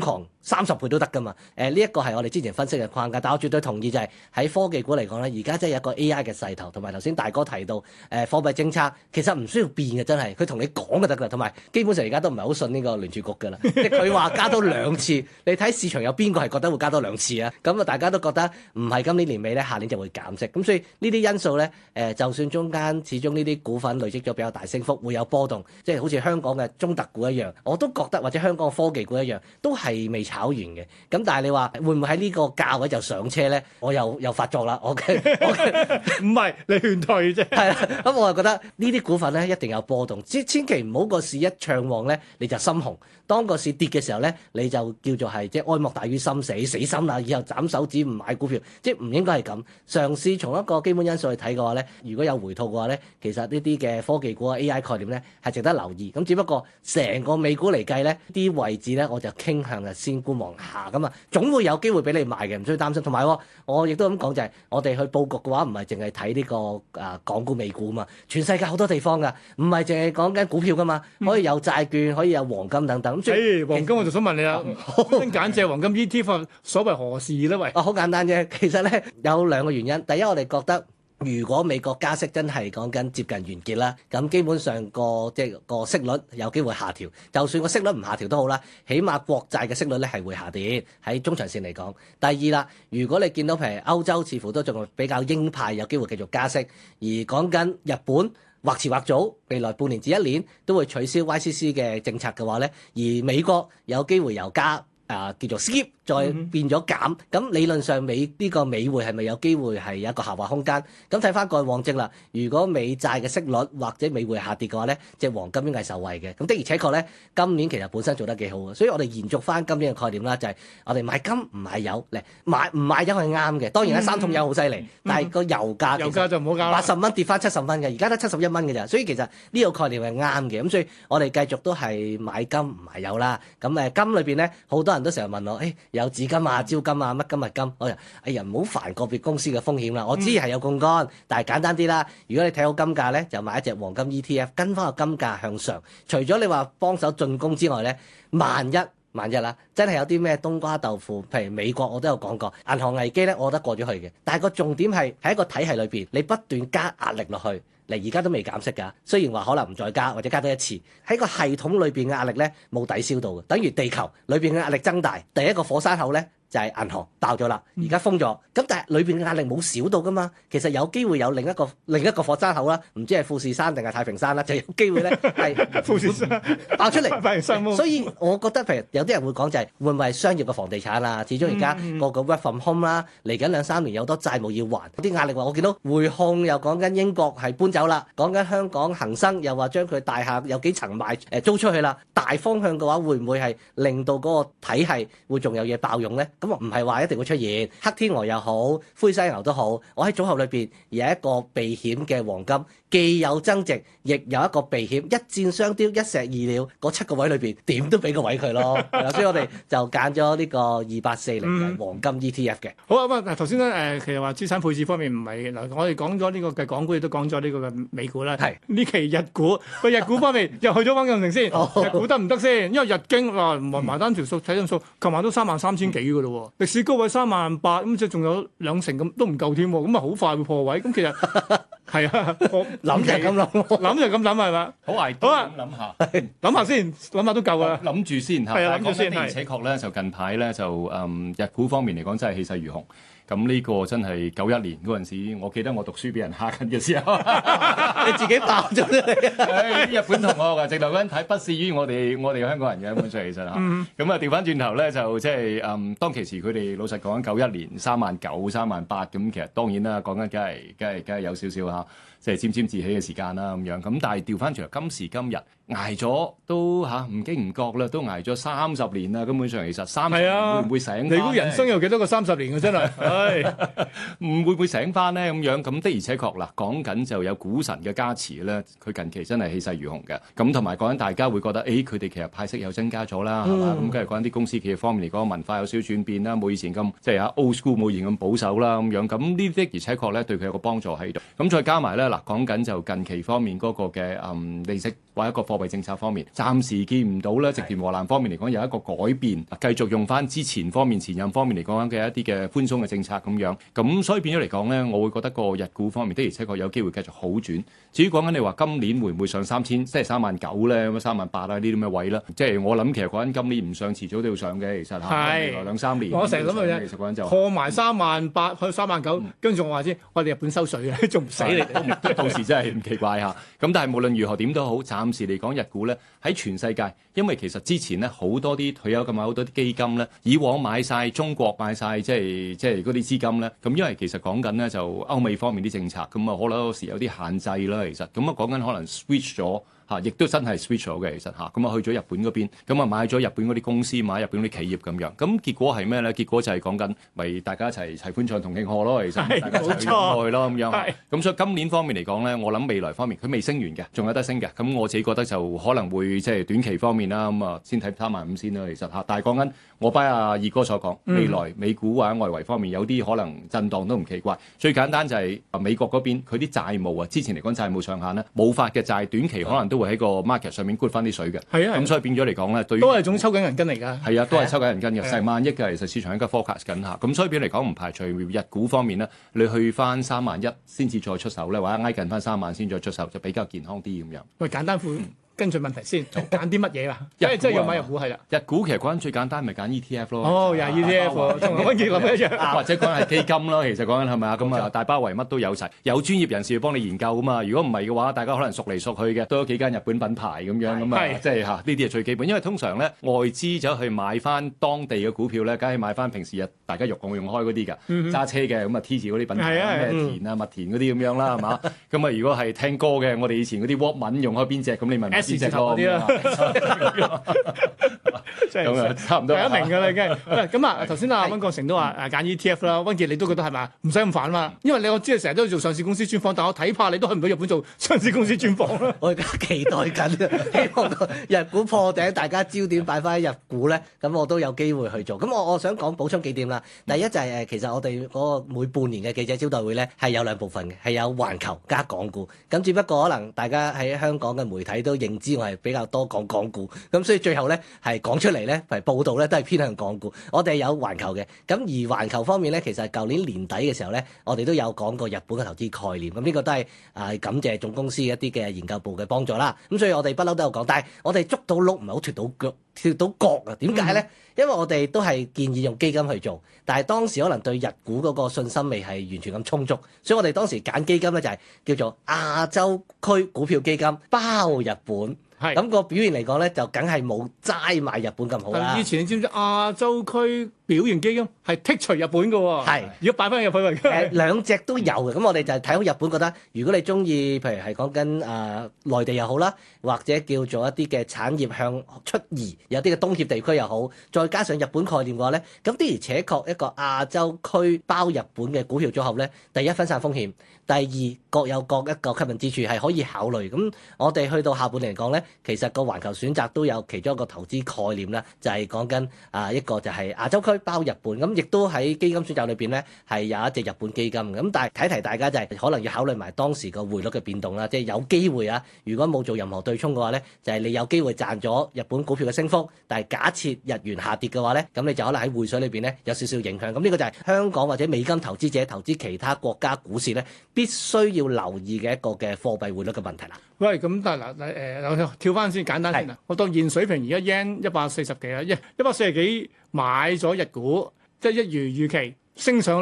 30倍都得㗎嘛。呢一個係我哋之前分析嘅框架，但我絕對同意就係喺科技股嚟講咧，而家真係有一個 AI 嘅勢頭，同埋頭先大哥提到貨幣政策其實唔需要變嘅，真係佢同你講就得㗎，同埋基本上而家都唔係好信呢個聯儲局㗎啦，即係佢話加多2次，你睇市場有邊個係覺得會加多2次啊？咁啊，大家都覺得唔係今年年尾咧，下年就會減息，咁所以呢啲因素咧，就算中間始終呢啲股份累積咗比較大升幅，會有波動，即係好似香港嘅中特股一樣，我都覺得或者香港嘅科技股一樣，都係未炒完嘅。咁但係你話會唔會喺呢個價位就上車咧？我又發作啦，我唔係你勸退啫。 係啦，咁我就覺得呢啲股份咧一定有波動，千祈唔好個市一暢旺咧你就心紅，當個市跌嘅時候咧你就叫做係即係哀莫大於心死，死心啦，以後斬手指唔買股票，即係唔應該係咁。嘗試從一個基本因素去睇嘅話咧，如果有回吐嘅話咧，其實呢啲嘅科技股啊 AI 概念咧係值得留意。咁只不過成個美股嚟計咧，啲位置咧我就傾向係先觀望下咁啊，總會有機會俾你買嘅，唔需要擔心。同埋我亦都咁講就係，我哋去佈局嘅話唔係淨係睇呢個港股美股啊嘛，全世界好多地方㗎，唔係淨係講緊股票㗎嘛，可以有債券，可以有黃金等等。咁黃金我就想問你啦，先揀隻黃金 ETF，所謂何事咧？喂， 好簡單啫，其實咧有2個原因。第一，我哋覺得如果美國加息真係講緊接近完結啦，咁基本上個息率有機會下調。就算個息率唔下調都好啦，起碼國債嘅息率咧係會下跌喺中長線嚟講。第二啦，如果你見到譬如歐洲似乎都仲比較鷹派，有機會繼續加息，而講緊日本或遲或早未來半年至1年都會取消 YCC 嘅政策嘅話咧，而美國有機會由加叫做 skip 再變咗減，咁理論上呢個美匯係咪有機會係有一個下滑空間？咁睇翻過去往績啦，如果美債嘅息率或者美匯下跌嘅話咧，隻黃金應該係受惠嘅。咁的而且確咧，今年其實本身做得幾好嘅，所以我哋延續翻今年嘅概念啦，就係我哋買金唔買油嚟，唔買油係啱嘅。當然咧，3桶油好犀利，但係個油價就唔好搞啦 ，80蚊跌翻70蚊嘅，而家得71蚊嘅咋，所以其實呢個概念係啱嘅。咁所以我哋繼續都係買金唔買油啦。咁金裏邊咧，好多人都成日問我，有紫金啊、招金啊、乜金物金，我就唔好煩個別公司嘅風險啦。我知係有槓桿，但係簡單啲啦。如果你睇好金價咧，就買一隻黃金 ETF，跟翻個金價向上。除咗你話幫手進攻之外咧，萬一啦，真係有啲咩冬瓜豆腐，譬如美國我都有講過，銀行危機咧，我覺得過咗去嘅。但係個重點係喺一個體系裏邊，你不斷加壓力落去。而家都未減息㗎，雖然話可能唔再加或者加多1次，喺個系統裏邊嘅壓力咧冇抵消到嘅，等於地球裏邊嘅壓力增大，第一個火山口咧就係銀行爆咗啦，而家封咗，咁但係裏邊嘅壓力冇少到㗎嘛，其實有機會有另一個火山口啦，唔知係富士山定係太平山啦，就有機會咧係富士山爆出嚟，所以我覺得譬如有啲人會講就係會唔會係商業嘅房地產啊？始終而家個 work from home 啦，嚟緊2-3年有好多債務要還，啲壓力話我見到匯控又講緊英國係搬走啦，講緊香港恒生又話將佢大廈有幾層賣租出去啦，大方向嘅話會唔會係令到嗰個體系會仲有嘢爆用咧？咁唔係話一定會出現黑天鵝又好，灰犀牛都好，我喺組合裏邊有一個避險嘅黃金，既有增值，亦有一個避險，一箭雙雕，一石二鳥，嗰7個位裏邊點都俾個位佢咯。所以我哋就揀咗呢個2840嘅黃金 ETF 嘅。 好啊，咁頭先咧其實話資產配置方面唔係嗱，我哋講咗呢個嘅港股，亦都講咗呢個嘅美股啦。係呢期日股，日股方面又去咗溫鋼城先，日股得唔得先？因為日經埋單條數睇張數，琴晚都33000幾嘅咯喎，歷史高位38000，咁即係仲有2成咁都唔夠添喎，咁啊好快會破位。咁其實係啊， 諗就係咁諗， 諗就咁諗係嘛？ 好捱啲咁諗下， 諗下先，諗下都夠啦。 諗住先嚇， 係啊，諗住先。 的而且確咧，就近排咧就日股方面嚟講真係氣勢如虹。咁呢個真係91年嗰陣時，我記得我讀書俾人蝦緊嘅時候， 你自己爆咗出嚟。 日本同學啊，直頭嗰陣睇不屑於我哋香港人嘅根本上其實嚇。咁啊調翻轉頭咧，就即係當其時佢哋老實講91年39000、38000咁，其實當然啦，講緊梗係有少少嚇，即係沾沾自喜嘅時間啦咁樣。咁但係調翻轉頭今時今日捱咗都唔經唔覺啦，都捱咗30年啦，根本上其實30年會唔會醒返？ 你估人生有幾多個30年嘅真係？ 唔會唔會醒翻咧咁樣？咁的而且確啦，講緊就有股神嘅加持咧，佢近期真係氣勢如虹嘅。咁同埋講緊大家會覺得，佢哋其實派息又增加咗啦，係嘛？咁跟住講緊啲公司企業方面嚟講，文化有少少轉變啦，冇以前咁即係old school 冇以前咁保守啦咁樣。咁呢啲的而且確咧對佢有個幫助喺度。咁再加埋咧嗱， 嗱，講緊就近期方面嗰個嘅利息或者一個貨幣政策方面，暫時見唔到咧，植田和男方面嚟講有一個改變，繼續用翻之前前任方面嚟講嘅一啲嘅寬鬆嘅政策咁樣，咁所以變咗嚟講咧，我會覺得個日股方面的而且確有機會繼續好轉。至於講緊你話今年會唔會上3000，即係39000咧，咁38000啊呢啲咁嘅位啦，即係我諗其實講緊今年唔上，遲早都要上嘅，其實嚇，未來2-3年。 我成日諗嘅啫， 其實講緊就破埋38000去39000，跟住我話先，我哋日本收水嘅，仲唔死你？ 到時真係唔奇怪嚇。咁但係無論如何點都好，暫時嚟講日股咧喺全世界，因為其實之前咧好多啲退休咁好多啲基金咧，以往買晒中國買晒即係嗰啲資金咧，咁因為其實講緊咧就歐美方面啲政策，咁啊可能有時有啲限制啦，其實咁啊講緊可能 switch 咗。亦都真係 switch 咗嘅，其實咁啊去咗日本嗰邊，咁啊買咗日本嗰啲公司，買日本嗰啲企業咁樣，咁結果係咩咧？結果就係講緊，咪大家一齊歡唱同慶賀咯，其實大家一齊過去咯咁樣。咁所以今年方面嚟講咧，我諗未來方面佢未升完嘅，仲有得升嘅。咁我自己覺得就可能會即係短期方面啦，咁啊先睇35000先啦，其實但係講緊我拜阿二哥所講，未來美股或者外圍方面有啲可能震盪都唔奇怪。最簡單就係美國嗰邊佢啲債務啊，之前嚟講債務上限咧冇發嘅債，短期可能都會喺個 market 上面 good 翻啲水嘅，咁所以變咗嚟講咧，對於都係種抽緊銀根嚟㗎， 係啊，都係抽緊銀根嘅，成萬億嘅，其實市場應該 forecast 緊下，咁所以變嚟講唔排除日股方面咧，你去翻31000先至再出手咧，或者挨近翻30000先再出手，就比較健康啲咁樣。 喂，簡單跟進問題先，揀啲乜嘢啊？即係要買日股係啦。 日股其實講緊最簡單，咪揀 ETF 咯。 哦，又係 ETF，同溫傑諗一樣。 或者講係基金咯，其實講緊係咪啊？咁啊，大包圍乜都有齊，有專業人士要幫你研究啊嘛。如果唔係嘅話，大家可能熟嚟熟去嘅，都有幾間日本品牌咁樣咁啊，即係呢啲係最基本。因為通常咧外資走去買翻當地嘅股票咧，梗係買翻平時大家用開嗰啲㗎，揸車嘅咁啊 T 字嗰啲品牌，咩田啊、麥田嗰啲咁樣啦，係嘛？咁啊，如果係聽歌嘅，我哋以前嗰啲 Walkman 用開邊隻，咁你問邊隻咯？咁啊，差唔多。 大家明㗎啦，已經。咁啊，頭先阿溫國成都話揀 ETF 啦，溫傑你都覺得係咪唔使咁煩啊嘛？因為我知你成日都要做上市公司專訪，但我睇怕你都去唔到日本做上市公司專訪啦。 我而家期待緊，希望個日股破頂，大家焦點擺翻喺日股咧，咁我都有機會去做。咁我想補充幾點啦。第一就係其實我哋嗰個每半年嘅記者招待會咧係有2部分嘅，係有環球加港股。咁只不過可能大家喺香港嘅媒體都認知我係比較多講港股，咁所以最後咧係講出嚟咧，係報道咧都係偏向港股。我哋有環球嘅，咁而環球方面咧，其實舊年年底嘅時候咧，我哋都有講過日本嘅投資概念。咁呢個都係感謝總公司一啲嘅研究部嘅幫助啦。咁所以我哋不嬲都有講，但係我哋捉到鹿唔係好脫到角啊？點解咧？因為我哋都係建議用基金去做，但係當時可能對日股嗰個信心未係完全咁充足，所以我哋當時揀基金咧就係叫做亞洲區股票基金包日本。咁個表現嚟講咧，就梗係冇齋買日本咁好啦。 以前你知唔知亞洲區表現基金係剔除日本嘅喎？係，如果擺翻入去為兩隻都有嘅。咁我哋就係睇好日本，覺得如果你中意，譬如係講緊內地又好啦，或者叫做一啲嘅產業向出移，有啲嘅東協地區又好，再加上日本概念嘅話咧，咁的而且確一個亞洲區包日本嘅股票組合咧，第一分散風險，第二各有各一個吸引之處係可以考慮。咁我哋去到下半年嚟講咧，其實個環球選擇都有其中一個投資概念啦，就係講緊一個就係亞洲區包日本，咁亦都喺基金選擇裏邊咧係有一隻日本基金。咁但係提大家就係可能要考慮埋當時個匯率嘅變動啦，即係有機會啊，如果冇做任何對沖嘅話咧，就係你有機會賺咗日本股票嘅升幅，但係假設日元下跌嘅話咧，咁你就可能喺匯水裏邊咧有少少影響。咁呢個就係香港或者美金投資者投資其他國家股市咧必須要留意嘅一個嘅貨幣匯率嘅問題啦。 喂，咁但係嗱跳翻先簡單先啊！我當現水平而家 yen 140幾啊，140幾買咗日股，即係一如預期升上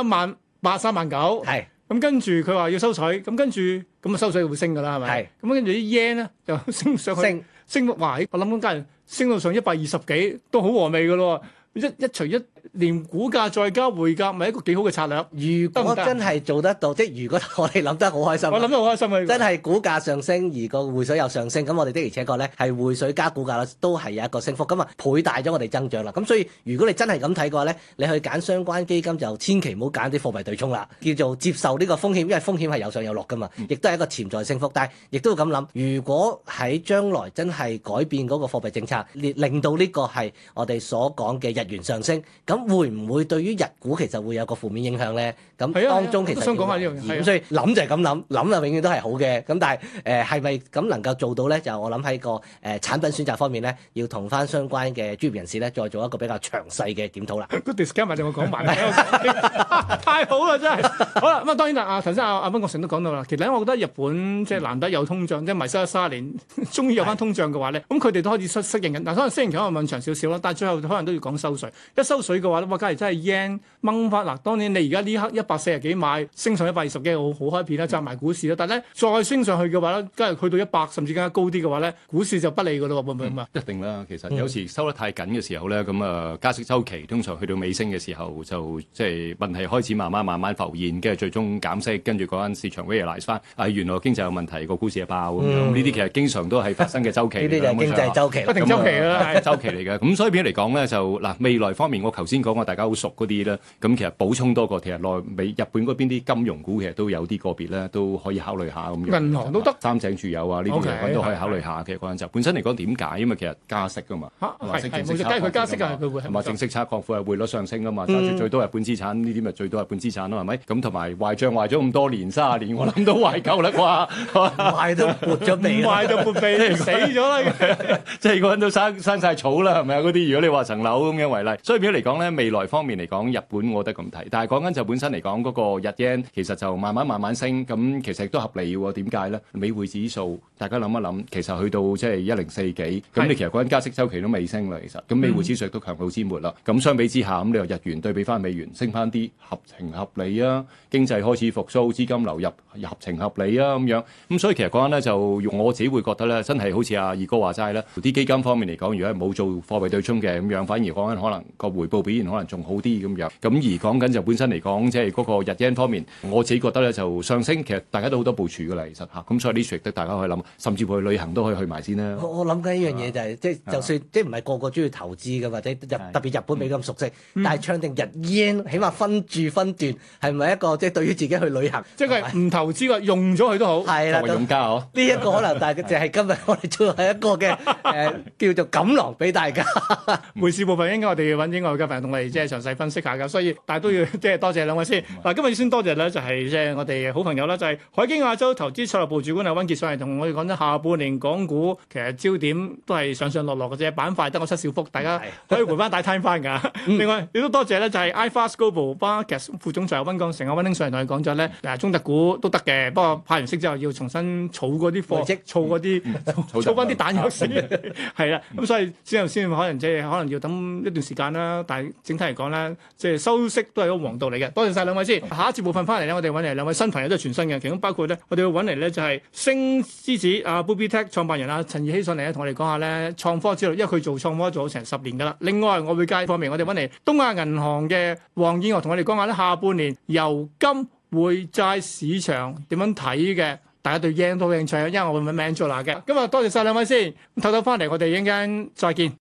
38000、39000。係。咁跟住佢話要收水，咁跟住咁啊收水會升㗎啦，係咪？係。咁跟住啲 yen 咧就升上去，升哇！我諗緊家人升到上120幾，都好和味㗎咯。一除一連股價再加匯價，咪一個幾好嘅策略。如果真係做得到，即係如果我哋諗得好開心， 我諗得好開心啊！ 真係股價上升，而個匯水又上升，咁我哋的而且確咧係匯水加股價咧都係有一個升幅，咁啊倍大咗我哋增長啦。咁所以如果你真係咁睇嘅話咧，你去揀相關基金就千祈唔好揀啲貨幣對沖啦，叫做接受呢個風險，因為風險係有上有落噶嘛，亦都係一個潛在升幅。但係亦都要咁諗，如果喺將來真係改變嗰個貨幣政策，令到呢個係我哋所講嘅日元上升，咁咁會唔會對於日股其實會有個負面影響咧？咁係啊當中其實我都想講下呢樣嘢係啊咁所以諗就係咁諗就永遠都係好嘅。咁但係係咪咁能夠做到咧？就我諗喺個產品選擇方面咧，要同翻相關嘅專業人士咧，再做一個比較詳細嘅檢討啦。 個 discount 就我講埋，太好啦真係。好啦，咁啊當然啦，頭先阿溫國成都講到啦，其實我覺得日本即係難得有通脹，即係迷失咗30年，終於有翻通脹嘅話咧，咁佢哋都開始適應緊。嗱，可能適應期可能問長少少啦，但係最後可能都要講收水。一收水嘅話咧，哇！假如真係 yen 掹翻嗱，當然你而家呢刻140幾買，升上120幾，好開片啦，賺埋股市啦。但係咧再升上去嘅話咧，假如去到100甚至更加高啲嘅話咧，股市就不利㗎咯喎，會唔會咁啊？ 一定啦，其實有時收得太緊嘅時候咧，咁加息週期通常去到尾聲嘅時候，就即係問題開始慢慢浮現，跟住最終減息，跟住嗰間市場 realize 翻，原來經濟有問題，個股市就爆咁樣。呢啲其實經常都係發生嘅週期。 呢啲就係經濟週期， 不停週期啦，係週期嚟嘅。咁所以變咗嚟講咧，就嗱未來方面，我頭先講過大家好熟嗰啲咧，咁其實補充多個，其實日本嗰邊啲金融股其實都有啲個別咧，都可以考慮下咁樣。 銀行都得， 三井住友啊，呢啲都可以考慮下嘅。嗰陣就本身嚟講點解？因為其實加息㗎嘛， 係冇錯，梗係佢加息㗎，佢會係嘛？正息差擴闊係匯率上升㗎嘛，揸住最多日本資產，呢啲咪最多日本資產咯，係咪？咁同埋壞帳壞咗咁多年30年，我諗都壞夠啦啩， 壞都撥咗鼻， 壞到撥鼻死咗啦， 即係嗰陣都生曬草啦，係咪啊？嗰啲如果你話層樓咁樣為例，所以變咗嚟講咧，未來方面嚟講，日本我覺得咁睇，但係講緊就本身嚟講嗰個日 yen 其實就慢慢升，咁其實亦都合理喎。點解咧？美匯指數大家諗一諗，其實去到即係104幾，咁你其實嗰陣加息週期都未升啦，其實咁美匯指數亦都強弩之末啦。咁相比之下，咁你話日元對比翻美元升翻啲，合情合理啊！經濟開始復甦，資金流入合情合理啊咁樣。咁所以其實講緊咧，就用我自己會覺得咧，真係好似阿二哥話齋咧，啲基金方面嚟講，如果係冇做貨幣對沖嘅咁樣，反而講緊可能個回報表現可能仲好啲咁樣。咁而講緊就本身嚟講，即係嗰個日 yen 方面，我自己覺得咧就上升，其實大家都好多部署㗎啦，其實嚇。咁所以呢處亦都大家可以諗，甚至乎去旅行都可以去埋先啦。 我諗緊一樣嘢就係，即係就算即係唔係個個中意投資嘅，或者特別日本未咁熟悉，但係唱定日 yen，起碼分住分段，係咪一個即係對於自己去旅行， 即係唔投資嘅，用咗佢都好。 係啦， 用家嗬。 呢一個可能，但係就係今日我哋做係一個嘅叫做錦囊俾大家。 匯市部分應該我哋要揾英外嘅朋友同我哋即係詳細分析下㗎，所以但係都要即係多謝兩位先。嗱，今日先多謝咧，就係即係我哋好朋友啦，就係海基亞洲投資策略部主管阿溫傑上嚟同我哋講咗下半年港股其實焦點都係上上落落嘅啫，板塊得個七小福，大家可以回翻帶聽翻㗎。另外亦都多謝咧，就係 iFast Global Markets 副總裁溫鋼城阿溫兄上嚟同你講咗咧，中特股都得嘅，不過派完息之後要重新儲嗰啲貨，儲嗰啲儲翻啲彈藥先，係啦。咁所以之後先可能即係可能要等一段時間啦。但係整體嚟講咧，即係收息都係一個王道嚟嘅。多謝晒兩位先。下一節部分翻嚟咧，我哋揾嚟兩位新朋友都係全新嘅，其中包括咧，我哋要揾嚟咧就係星之子阿 BubiTech 創辦人阿陳易希上嚟咧，同我哋講下咧創科之路，因為佢做創科做咗成10年㗎啦。另外外匯界方面，我哋揾嚟東亞銀行嘅黃燕娥同我哋講下咧下半年油金匯債市場點樣睇嘅。大家對 yen 都好興趣，因為我會揾 Angela 嘅。今日多謝晒兩位先，唞唞翻嚟，我哋一陣間再見。